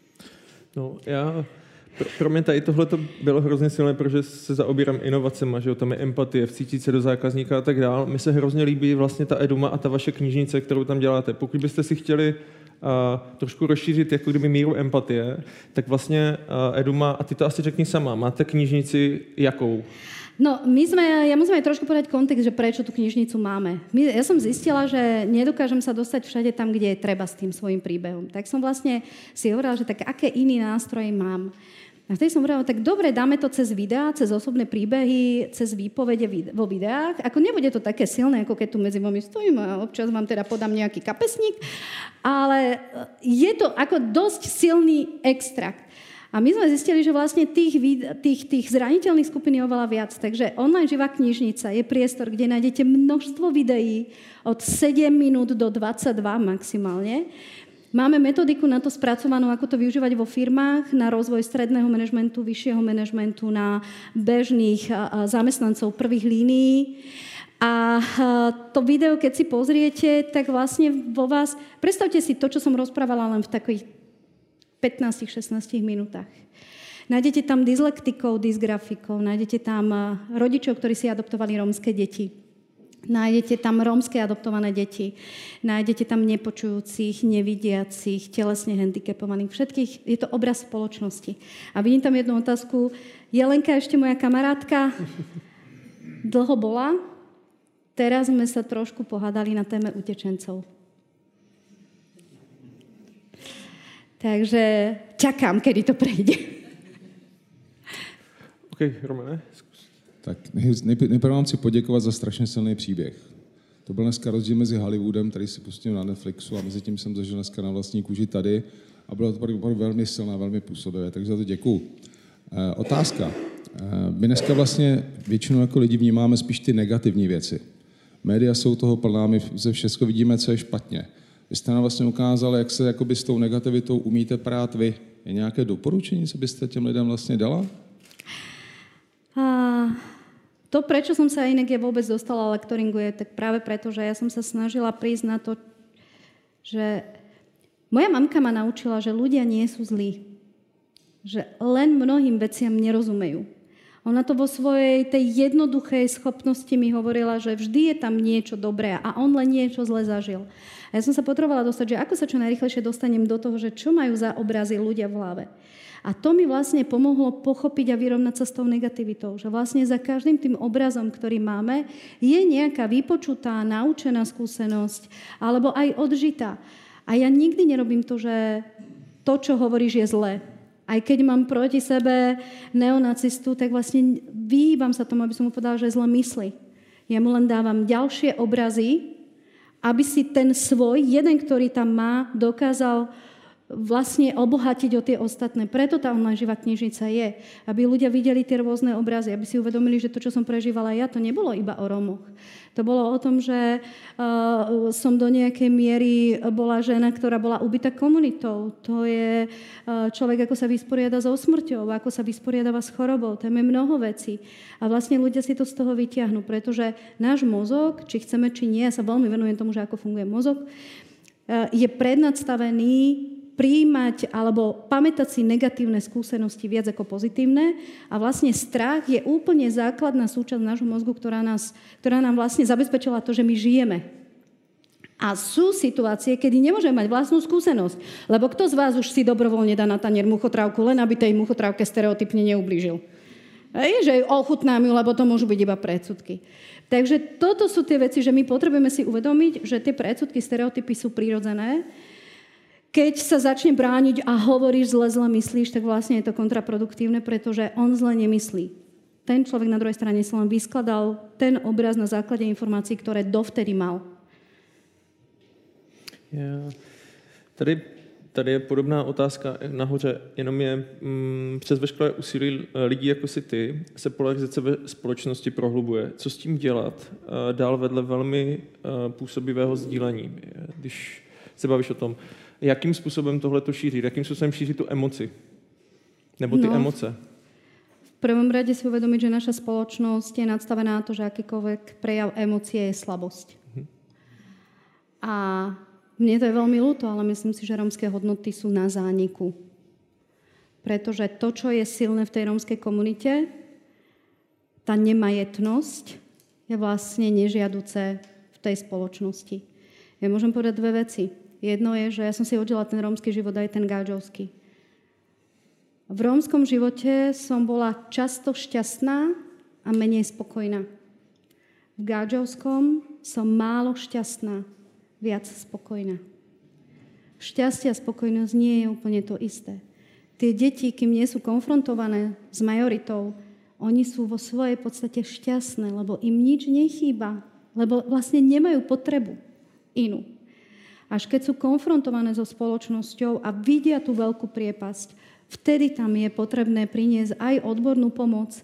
No, já... Pro, pro mě tady tohle to bylo hrozně silné, protože se zaobírám inovacema, že jo, tam je empatie, vcítit se do zákazníka a tak dál. Mně se hrozně líbí vlastně ta Eduma a ta vaše knižnice, kterou tam děláte. Pokud byste si chtěli uh, trošku rozšířit jako kdyby míru empatie, tak vlastně uh, Eduma, a ty to asi řekni sama, máte knižnici jakou? No, my sme, ja musím aj trošku povedať kontext, že prečo tú knižnicu máme. My, ja som zistila, že nedokážem sa dostať všade tam, kde je treba s tým svojím príbehom. Tak som vlastne si hovorila, že tak aké iný nástroje mám. A vtedy som hovorila, tak dobre, dáme to cez videá, cez osobné príbehy, cez výpovede vo videách. Ako nebude to také silné, ako keď tu medzi vami stojím a občas vám teda podám nejaký kapesník, ale je to ako dosť silný extrakt. A my sme zistili, že vlastne tých, tých, tých zraniteľných skupín je oveľa viac. Takže online živá knižnica je priestor, kde nájdete množstvo videí od sedem minút do dvadsaťdva maximálne. Máme metodiku na to spracovanú, ako to využívať vo firmách, na rozvoj stredného manažmentu, vyššieho manažmentu, na bežných zamestnancov prvých línií. A to video, keď si pozriete, tak vlastne vo vás... Predstavte si to, čo som rozprávala len v takých pätnásť šestnásť minútach. Nájdete tam dyslektikov, dysgrafikov, nájdete tam rodičov, ktorí si adoptovali rómske deti. Nájdete tam rómske adoptované deti, nájdete tam nepočujúcich, nevidiacich, telesne handicapovaných, všetkých. Je to obraz spoločnosti. A vidím tam jednu otázku. Jelenka, ešte moja kamarátka, dlho bola. Teraz sme sa trošku pohádali na téme utečencov. Takže čakám, kedy to prejde. OK, Romane, Tak nejprve vám chci poděkovat za strašně silný příběh. To byl dneska rozdíl mezi Hollywoodem, který si pustil na Netflixu, a mezi tím jsem zažil dneska na vlastní kůži tady a bylo to opravdu velmi silné, velmi působivé, takže za to děkuju. E, otázka. E, my dneska vlastně většinou jako lidi vnímáme spíš ty negativní věci. Média jsou toho plná, my ze všechno vidíme, co je špatně. Vy jste nám vlastně ukázali, jak se jakoby s tou negativitou umíte prát vy. Je nějaké doporučení, co byste těm lidem vlastně dala? A... To, prečo som sa inak ja vôbec dostala lektoringu, je tak práve preto, že ja som sa snažila prísť na to, že moja mamka ma naučila, že ľudia nie sú zlí. Že len mnohým veciam nerozumejú. Ona to vo svojej tej jednoduchej schopnosti mi hovorila, že vždy je tam niečo dobré a on len niečo zle zažil. A ja som sa potrebovala dostať, že ako sa čo najrýchlejšie dostanem do toho, že čo majú za obrazy ľudia v hlave. A to mi vlastne pomohlo pochopiť a vyrovnať sa s tou negativitou. Že vlastne za každým tým obrazom, ktorý máme, je nejaká vypočutá, naučená skúsenosť alebo aj odžitá. A ja nikdy nerobím to, že to, čo hovoríš, je zlé. Aj keď mám proti sebe neonacistu, tak vlastne vyhýbam sa tomu, aby som mu povedala, že zle myslí. Ja mu len dávam ďalšie obrazy, aby si ten svoj, jeden, ktorý tam má, dokázal vlastne obohatiť o tie ostatné. Preto tá online živá knižnica je. Aby ľudia videli tie rôzne obrazy, aby si uvedomili, že to, čo som prežívala ja, to nebolo iba o Rómoch. To bolo o tom, že uh, som do nejakej miery bola žena, ktorá bola ubitá komunitou. To je uh, človek, ako sa vysporiada so smrťou, ako sa vysporiadáva s chorobou. Tam je mnoho vecí. A vlastne ľudia si to z toho vyťahnú, pretože náš mozog, či chceme, či nie, ja sa veľmi venujem tomu, že ako funguje mozog, uh, je prednastavený prijímať alebo pamätať si negatívne skúsenosti viac ako pozitívne. A vlastne strach je úplne základná súčasť nášho mozgu, ktorá, nás, ktorá nám vlastne zabezpečila to, že my žijeme. A sú situácie, kedy nemôžeme mať vlastnú skúsenosť. Lebo kto z vás už si dobrovoľne dá na tanier muchotrávku, len aby tej muchotrávke stereotypne neublížil. Hej, že ochutnám ju, lebo to môžu byť iba predsudky. Takže toto sú tie veci, že my potrebujeme si uvedomiť, že tie predsudky, stereotypy sú prirodzené. Keď sa začne brániť a hovoríš zle, zle myslíš, tak vlastne je to kontraproduktívne, pretože on zle nemyslí. Ten človek na druhej strane sa len vyskladal ten obraz na základe informácií, ktoré dovtedy mal. Ja, tady, tady je podobná otázka nahoře, jenom je mm, přes veškeré úsilí lidí jako si ty se polarizace ve společnosti prohlubuje. Co s tím dělat dál vedle velmi působivého sdílení? Když se bavíš o tom, jakým způsobem tohle to šíří? Jakým způsobem šíří tu emoci? Nebo ty no, emoce? V prvom rade si uvedomiť, že naša spoločnosť je nadstavená na to, že akýkoľvek prejav emócie je slabosť. Mhm. A mne to je veľmi ľúto, ale myslím si, že rómske hodnoty sú na zániku. Pretože to, čo je silné v tej rómskej komunite, tá nemajetnosť je vlastne nežiaduce v tej spoločnosti. Ja môžem povedať dve veci. Jedno je, že ja som si odžila ten rómsky život aj ten gáčovský. V rómskom živote som bola často šťastná a menej spokojná. V gáčovskom som málo šťastná, viac spokojná. Šťastie a spokojnosť nie je úplne to isté. Tie deti, kým nie sú konfrontované s majoritou, oni sú vo svojej podstate šťastné, lebo im nič nechýba, lebo vlastne nemajú potrebu inú. Až keď sú konfrontované so spoločnosťou a vidia tú veľkú priepasť, vtedy tam je potrebné priniesť aj odbornú pomoc,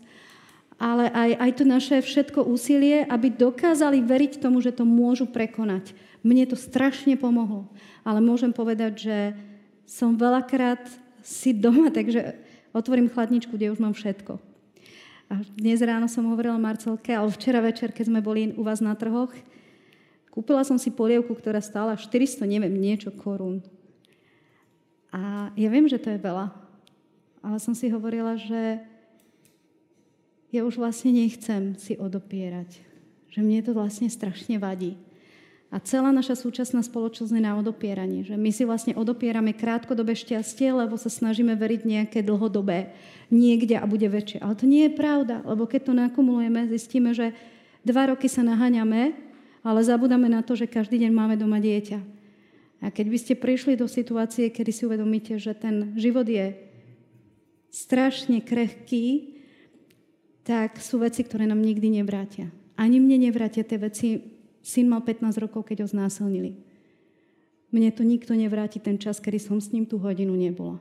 ale aj, aj to naše všetko úsilie, aby dokázali veriť tomu, že to môžu prekonať. Mne to strašne pomohlo. Ale môžem povedať, že som veľakrát si doma, takže otvorím chladničku, kde už mám všetko. A dnes ráno som hovorila Marcelke, ale včera večer, keď sme boli u vás na trhoch, kúpila som si polievku, ktorá stála štyristo, neviem, niečo korún. A ja viem, že to je veľa. Ale som si hovorila, že ja už vlastne nechcem si odopierať. Že mne to vlastne strašne vadí. A celá naša súčasná spoločnosť je na odopieranie. Že my si vlastne odopierame krátkodobé šťastie, lebo sa snažíme veriť nejaké dlhodobé niekde a bude väčšie. Ale to nie je pravda, lebo keď to nakumulujeme, zistíme, že dva roky sa naháňame, ale zabudáme na to, že každý deň máme doma dieťa. A keď by ste prišli do situácie, kedy si uvedomíte, že ten život je strašne krehký, tak sú veci, ktoré nám nikdy nevrátia. Ani mne nevrátia tie veci. Syn mal pätnásť rokov, keď ho znásilnili. Mne to nikto nevráti ten čas, kedy som s ním tú hodinu nebola.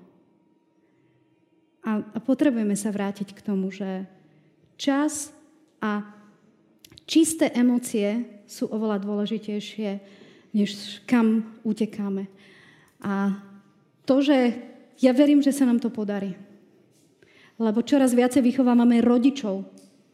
A, a potrebujeme sa vrátiť k tomu, že čas a čisté emócie sú oveľa dôležitejšie, než kam utekáme. A to, že ja verím, že sa nám to podarí. Lebo čoraz viacej vychovávame rodičov.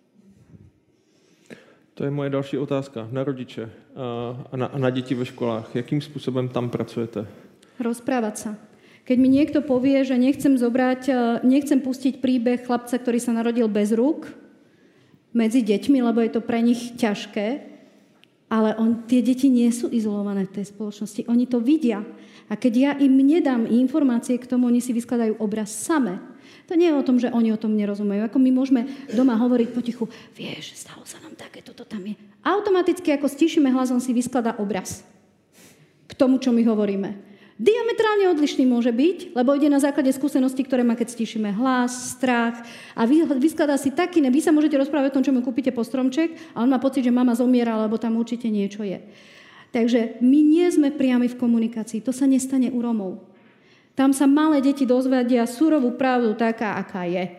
To je moje další otázka na rodiče a na, a na děti ve školách. Jakým způsobem tam pracujete? Rozprávať sa. Keď mi niekto povie, že nechcem zobrať, nechcem pustiť príbeh chlapca, ktorý sa narodil bez rúk medzi deťmi, lebo je to pre nich ťažké, ale on, tie deti nie sú izolované v tej spoločnosti. Oni to vidia. A keď ja im nedám informácie k tomu, oni si vyskladajú obraz same. To nie je o tom, že oni o tom nerozumejú. Ako my môžeme doma hovoriť potichu, vieš, stalo sa nám také, toto tam je. Automaticky, ako stíšime hlas, on si vyskladá obraz k tomu, čo my hovoríme. Diametrálne odlišný môže byť, lebo ide na základe skúseností, ktoré má, keď stíšime hlas, strach a vy, vyskladá si taký, ne, vy sa môžete rozprávať o tom, čo mu kúpite po stromček a on má pocit, že mama zomiera, lebo tam určite niečo je. Takže my nie sme priami v komunikácii. To sa nestane u Romov. Tam sa malé deti dozvedia surovú pravdu taká, aká je.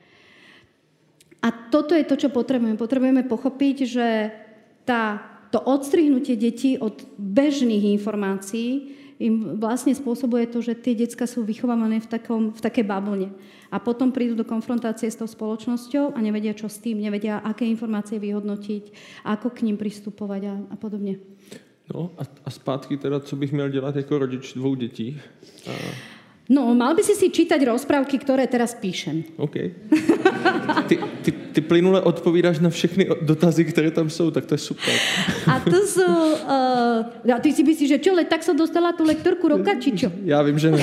A toto je to, čo potrebujeme. Potrebujeme pochopiť, že tá, to odstrihnutie detí od bežných informácií im vlastne spôsobuje to, že tie decká sú vychovávané v, takom, v takej bavlne. A potom prídu do konfrontácie s tou spoločnosťou a nevedia, čo s tým, nevedia, aké informácie vyhodnotiť, ako k ním pristupovať a, a podobne. No a, a zpátky teda, co bych měl dělat jako rodič dvou dětí? A... No, mal by si si čítať rozprávky, ktoré teraz píšem. OK. Ty, ty, ty plynule odpovídáš na všechny dotazy, které tam jsou, tak to je super. A to sú... Uh, a ty si myslíš, že čo, le, tak som dostala tú lektorku roka, či čo? Já vím, že ne.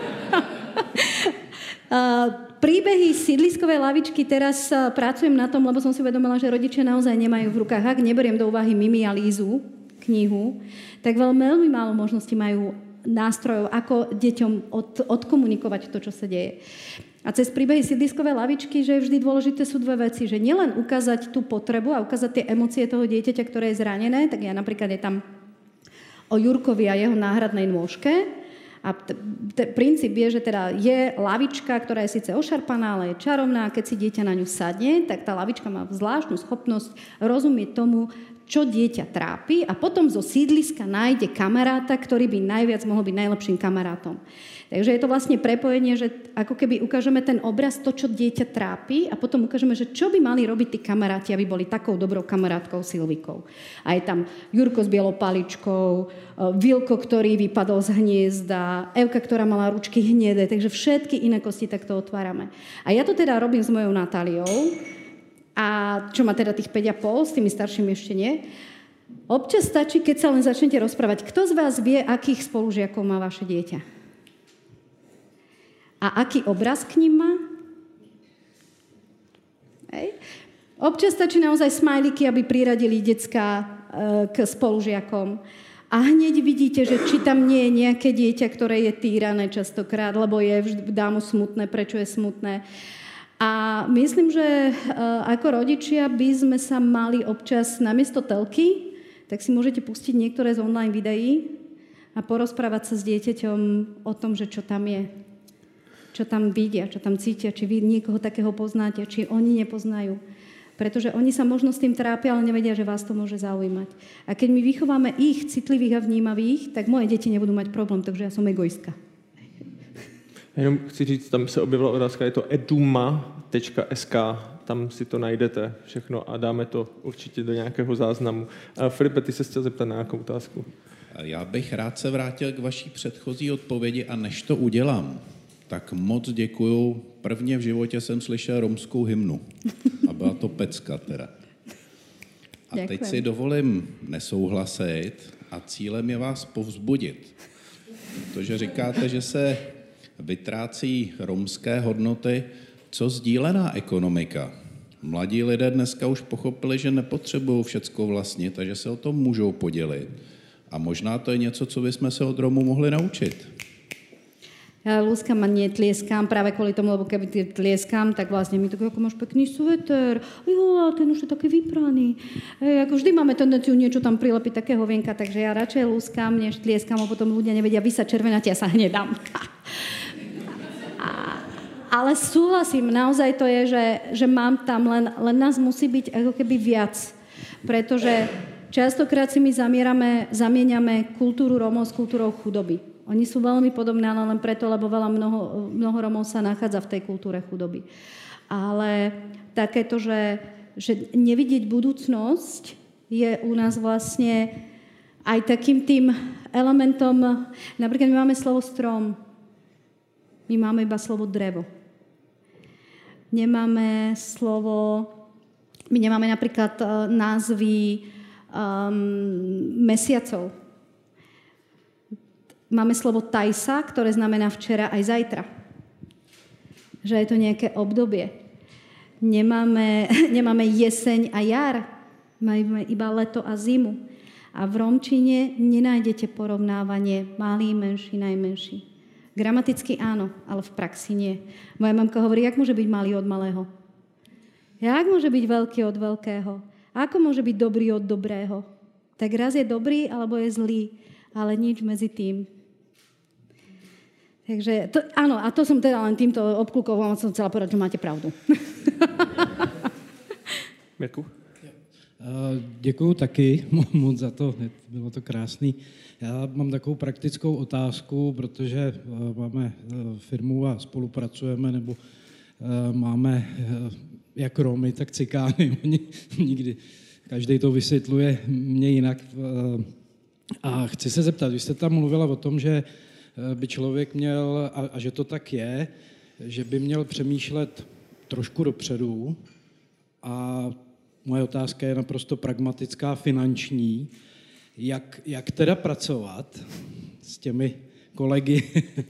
uh, príbehy sídliskovej lavičky teraz uh, pracujem na tom, lebo som si uvedomila, že rodičia naozaj nemajú v rukách. Ak neberiem do úvahy Mimi a Lízu, knihu, tak veľmi, veľmi málo možností majú nástrojov, ako deťom od, odkomunikovať to, čo sa deje. A cez príbehy sídliskovej lavičky, že vždy dôležité sú dve veci, že nielen ukázať tú potrebu a ukázať tie emócie toho dieťaťa, ktoré je zranené, tak ja napríklad je tam o Jurkovi a jeho náhradnej nôžke. A t- t- princíp je, že teda je lavička, ktorá je síce ošarpaná, ale je čarovná. Keď si dieťa na ňu sadne, tak tá lavička má zvláštnu schopnosť rozumieť tomu, čo dieťa trápi a potom zo sídliska nájde kamaráta, ktorý by najviac mohol byť najlepším kamarátom. Takže je to vlastne prepojenie, že ako keby ukážeme ten obraz, to, čo dieťa trápi a potom ukážeme, že čo by mali robiť tí kamaráti, aby boli takou dobrou kamarátkou Silvikou. A je tam Jurko s bielou paličkou, Vilko, ktorý vypadol z hniezda, Evka, ktorá mala ručky hnedé, takže všetky inakosti takto otvárame. A ja to teda robím s mojou Natáliou, a čo má teda tých päť a pol, s tými staršími ešte nie. Občas stačí, keď sa len začnete rozprávať. Kto z vás vie, akých spolužiakov má vaše dieťa? A aký obraz k ním má? Hej. Občas stačí naozaj smajliky, aby priradili decká e, k spolužiakom. A hneď vidíte, že či tam nie je nejaké dieťa, ktoré je týrané častokrát, lebo je vždy dá mu smutné, prečo je smutné. A myslím, že ako rodičia by sme sa mali občas namiesto telky, tak si môžete pustiť niektoré z online videí a porozprávať sa s dieťaťom o tom, že čo tam je. Čo tam vidia, čo tam cítia, či vy niekoho takého poznáte, či oni nepoznajú. Pretože oni sa možno s tým trápia, ale nevedia, že vás to môže zaujímať. A keď my vychováme ich citlivých a vnímavých, tak moje deti nebudú mať problém, takže ja som egoistka. Jenom chci říct, tam se objevila otázka, je to eduma tečka es ká, tam si to najdete všechno a dáme to určitě do nějakého záznamu. A Filipe, ty se chtěl zeptat na nějakou otázku. Já bych rád se vrátil k vaší předchozí odpovědi a než to udělám, tak moc děkuju. Prvně v životě jsem slyšel romskou hymnu a byla to pecka teda. A teď Děkujem. si dovolím nesouhlasit a cílem je vás povzbudit. Protože říkáte, že se vytrácí romské hodnoty, co sdílená ekonomika. Mladí lidé dneska už pochopili, že nepotřebují všecko vlastnit, takže se o tom můžou podělit. A možná to je něco, co bychom se od Romů mohli naučit. Ja lúskam a netlieskam práve kvôli tomu, lebo keby tlieskam, tak vlastne mi to ako máš pekný sveter, jo, a ten už je taký vypraný. E, ako vždy máme tendenciu niečo tam prilepiť takého vienka, takže ja radšej lúskam, než tlieskam, a potom ľudia nevedia, vy sa červenáte, ja sa hnedám. A, ale súhlasím, naozaj to je, že, že mám tam, len, len nás musí byť ako keby viac. Pretože častokrát si my zamierame, zamieňame kultúru Rómov s kultúrou chudoby. Oni sú veľmi podobné, ale len preto, lebo veľa mnoho, mnoho Rómov sa nachádza v tej kultúre chudoby. Ale takéto, že, že nevidieť budúcnosť je u nás vlastne aj takým tým elementom, napríklad my máme slovo strom, my máme iba slovo drevo. Nemáme slovo, my nemáme napríklad názvy um, mesiacov. Máme slovo tajsa, ktoré znamená včera aj zajtra. Že je to nejaké obdobie. Nemáme, nemáme jeseň a jar. Máme iba leto a zimu. A v romčine nenájdete porovnávanie malý, menší, najmenší. Gramaticky áno, ale v praxi nie. Moja mamka hovorí, jak môže byť malý od malého? Jak môže byť veľký od veľkého? Ako môže byť dobrý od dobrého? Tak raz je dobrý, alebo je zlý, ale nič medzi tým. Takže to, áno, a to som teda len týmto obklukovom som chcela povedať, že máte pravdu. Mirku? Děkuju taky moc za to, bylo to krásný. Já mám takovou praktickou otázku, protože máme firmu a spolupracujeme, nebo máme jak Romy, tak Cikány. Oni nikdy, každý to vysvětluje mě jinak. A chci se zeptat, vy jste tam mluvila o tom, že by člověk měl, a, a že to tak je, že by měl přemýšlet trošku dopředu. A moje otázka je naprosto pragmatická, finanční. Jak, jak teda pracovat s těmi kolegy,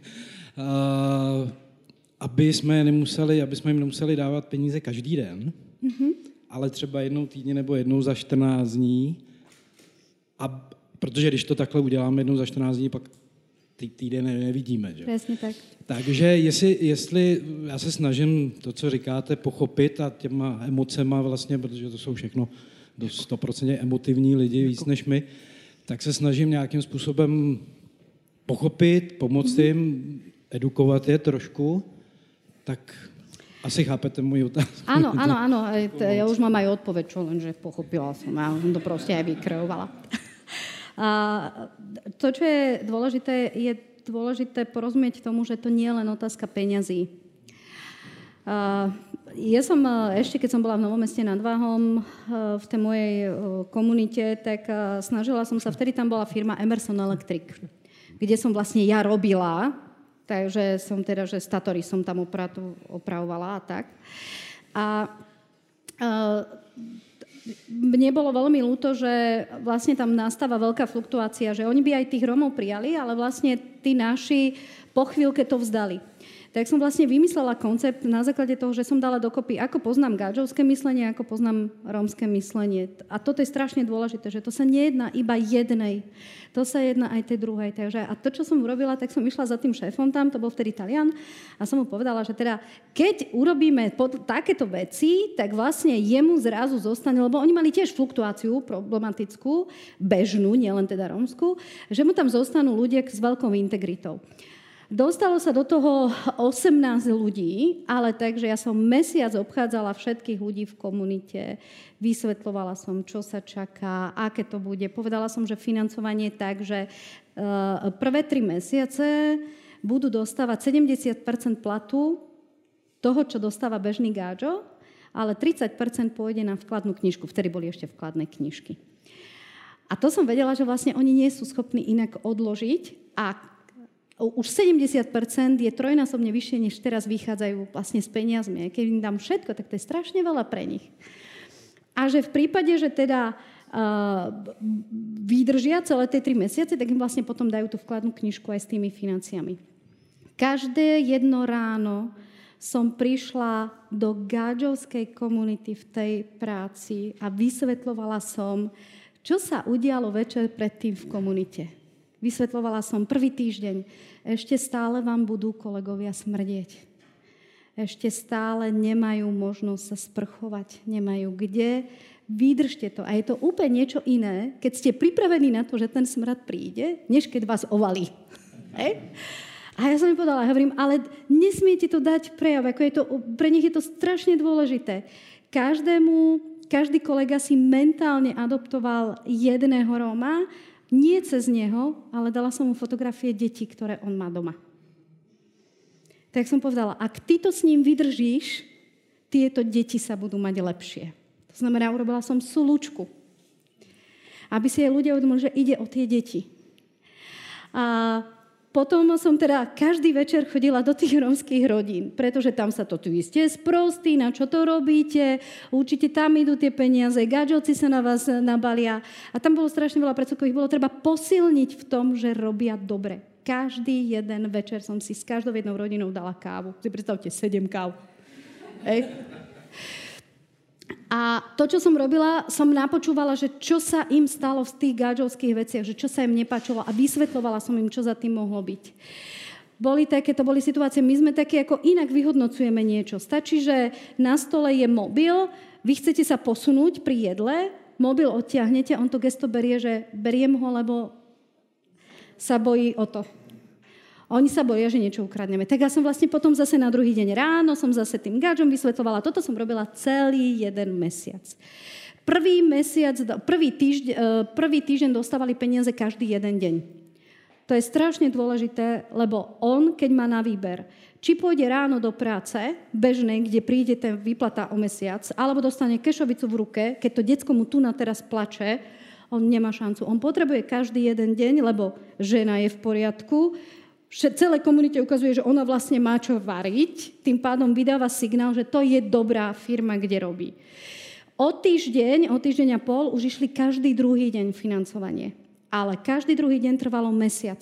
aby jsme, nemuseli, aby jsme jim nemuseli dávat peníze každý den, mm-hmm. ale třeba jednou týdně nebo jednou za čtrnáct dní. A protože když to takhle uděláme jednou za čtrnáct dní, pak ty týden nevidíme. Že? Presne tak. Takže jestli, jestli já se snažím to, co říkáte, pochopit a těma emocema vlastně, protože to jsou všechno do sto procent emotivní lidi, víc než my, tak se snažím nějakým způsobem pochopit, pomoct jim, edukovat je trošku, tak asi chápete moji otázku. Áno, áno, áno. Ja už mám aj odpoveď, čo lenže pochopila som. Ja som to proste aj vykreovala. A to, čo je dôležité, je dôležité porozumieť tomu, že to nie je len otázka peňazí. Ja som ešte, keď som bola v Novom Meste nad Váhom v tej mojej komunite, tak snažila som sa, vtedy tam bola firma Emerson Electric, kde som vlastne ja robila, takže som teda, že statory som tam opravovala a tak. A mne bolo veľmi ľúto, že vlastne tam nastáva veľká fluktuácia, že oni by aj tých Rómov prijali, ale vlastne tí naši po chvíľke to vzdali. Tak som vlastne vymyslela koncept na základe toho, že som dala dokopy, ako poznám gáčovské myslenie, ako poznám rómske myslenie. A toto je strašne dôležité, že to sa nejedná iba jednej, to sa jedná aj tej druhej. Takže, a to, čo som urobila, tak som išla za tým šéfom tam, to bol vtedy Talian, a som mu povedala, že teda, keď urobíme pod, takéto veci, tak vlastne jemu zrazu zostane, lebo oni mali tiež fluktuáciu problematickú, bežnú, nielen teda rómsku, že mu tam zostanú ľudia s veľkou integritou. Dostalo sa do toho osemnásť ľudí, ale takže ja som mesiac obchádzala všetkých ľudí v komunite, vysvetľovala som, čo sa čaká, aké to bude. Povedala som, že financovanie je tak, že prvé tri mesiace budú dostávať sedemdesiat percent platu toho, čo dostáva bežný gáčo, ale tridsať percent pôjde na vkladnú knižku. Vtedy boli ešte vkladné knižky. A to som vedela, že vlastne oni nie sú schopní inak odložiť a už sedemdesiat percent je trojnásobne vyššie, než teraz vychádzajú vlastne s peniazmi. Keď im dám všetko, tak to je strašne veľa pre nich. A že v prípade, že teda uh, vydržia celé tie tri mesiace, tak im vlastne potom dajú tú vkladnú knižku aj s tými financiami. Každé jedno ráno som prišla do gáčovskej komunity v tej práci a vysvetľovala som, čo sa udialo večer predtým v komunite. Vysvetľovala som prvý týždeň. Ešte stále vám budú kolegovia smrdieť. Ešte stále nemajú možnosť sa sprchovať. Nemajú kde. Vydržte to. A je to úplne niečo iné, keď ste pripravení na to, že ten smrad príde, než keď vás ovalí. Hej? A ja som mi povedala, hovorím, ale nesmiete to dať prejav. Ako je to, pre nich je to strašne dôležité. Každému, každý kolega si mentálne adoptoval jedného Róma, nie cez neho, ale dala som mu fotografie detí, ktoré on má doma. Tak som povedala, ak ty to s ním vydržíš, tieto deti sa budú mať lepšie. To znamená, urobila som súlučku, aby si aj ľudia uvedomili, že ide o tie deti. A potom som teda každý večer chodila do tých rómskych rodín, pretože tam sa to tu ste sprostí, na čo to robíte, určite tam idú tie peniaze, gáčovci sa na vás nabalia. A tam bolo strašne veľa predsudkov, ich bolo treba posilniť v tom, že robia dobre. Každý jeden večer som si s každou jednou rodinou dala kávu. Si predstavte, sedem káv. Hej. A to, čo som robila, som napočúvala, že čo sa im stalo v tých gáčovských veciach, že čo sa im nepáčilo a vysvetľovala som im, čo za tým mohlo byť. Boli také, to boli situácie, my sme také, ako inak vyhodnocujeme niečo. Stačí, že na stole je mobil, vy chcete sa posunúť pri jedle, mobil odtiahnete, on to gesto berie, že beriem ho, lebo sa bojí o to. Oni sa boja, že niečo ukradneme. Tak ja som vlastne potom zase na druhý deň ráno, som zase tým gáčom vysvetľovala. Toto som robila celý jeden mesiac. Prvý mesiac, prvý týždeň, prvý týždeň dostávali peniaze každý jeden deň. To je strašne dôležité, lebo on, keď má na výber, či pôjde ráno do práce, bežnej, kde príde ten výplata o mesiac, alebo dostane kešovicu v ruke, keď to decko mu tu na teraz plače, on nemá šancu. On potrebuje každý jeden deň, lebo žena je v poriadku, celé komunite ukazuje, že ona vlastne má čo variť, tým pádom vydáva signál, že to je dobrá firma, kde robí. O týždeň, o týždeň a pol už išli každý druhý deň financovanie. Ale každý druhý deň trvalo mesiac.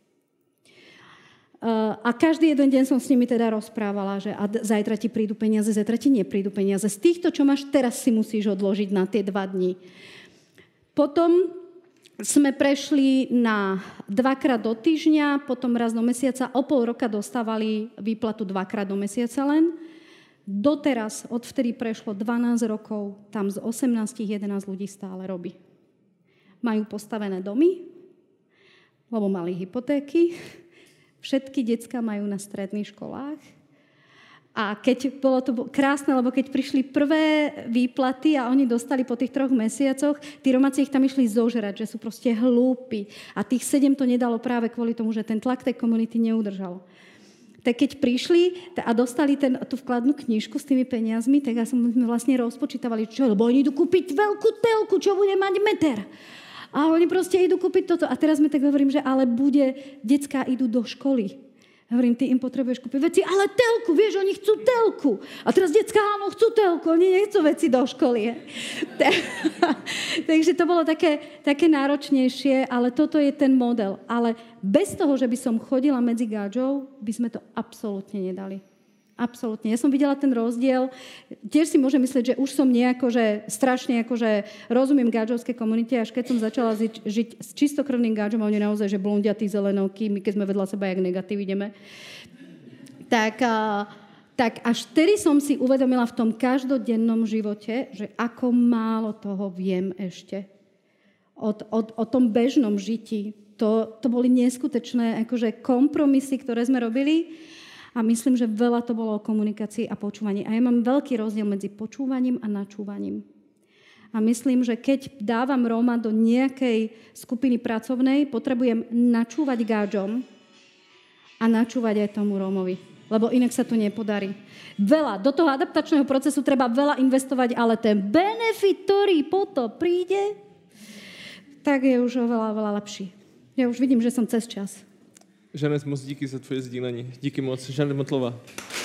A každý jeden deň som s nimi teda rozprávala, že a zajtra ti prídu peniaze, zajtra ti neprídu peniaze. Z týchto, čo máš teraz, si musíš odložiť na tie dva dni. Potom sme prešli na dvakrát do týždňa, potom raz do mesiaca, o pol roka dostávali výplatu dvakrát do mesiaca len. Doteraz, odvtedy prešlo dvanásť rokov, tam z osemnásť jedenásť ľudí stále robí. Majú postavené domy, lebo mali hypotéky, všetky decká majú na stredných školách. A keď bolo to krásne, lebo keď prišli prvé výplaty a oni dostali po tých troch mesiacoch, tí Romáci ich tam išli zožrať, že sú proste hlúpi. A tých sedem to nedalo práve kvôli tomu, že ten tlak tej komunity neudržal. Tak keď prišli a dostali ten, tú vkladnú knižku s tými peniazmi, tak ja som vlastne rozpočítavali, čo, lebo oni idú kúpiť veľkú telku, čo bude mať meter. A oni proste idú kúpiť toto. A teraz mi tak hovorím, že ale bude, decká idú do školy. Hovorím, ty im potrebuješ kúpiť veci, ale telku, vieš, oni chcú telku. A teraz decká, áno, chcú telku, oni nechcú veci do školy. Takže to bolo také, také náročnejšie, ale toto je ten model. Ale bez toho, že by som chodila medzi gáčov, by sme to absolútne nedali. Absolútne. Ja som videla ten rozdiel. Tiež si môžem myslieť, že už som nejako, že strašne akože rozumiem gáčovskej komunite, až keď som začala zi- žiť s čistokrvným gáčom, a oni naozaj, že blondiatí, zelenovky, my keď sme vedľa seba, jak negatív ideme, tak, a, tak až vtedy som si uvedomila v tom každodennom živote, že ako málo toho viem ešte o, o, o tom bežnom žití To, to boli neskutečné akože kompromisy, ktoré sme robili a myslím, že veľa to bolo o komunikácii a počúvaní. A ja mám veľký rozdiel medzi počúvaním a načúvaním. A myslím, že keď dávam Róma do nejakej skupiny pracovnej, potrebujem načúvať gáčom a načúvať aj tomu Rómovi. Lebo inak sa to nepodarí. Veľa. Do toho adaptačného procesu treba veľa investovať, ale ten benefit, ktorý potom príde, tak je už oveľa, veľa lepší. Já už vidím, že jsem cez čas. Žanet, moc díky za tvoje sdílení. Díky moc. Žanet Motlová.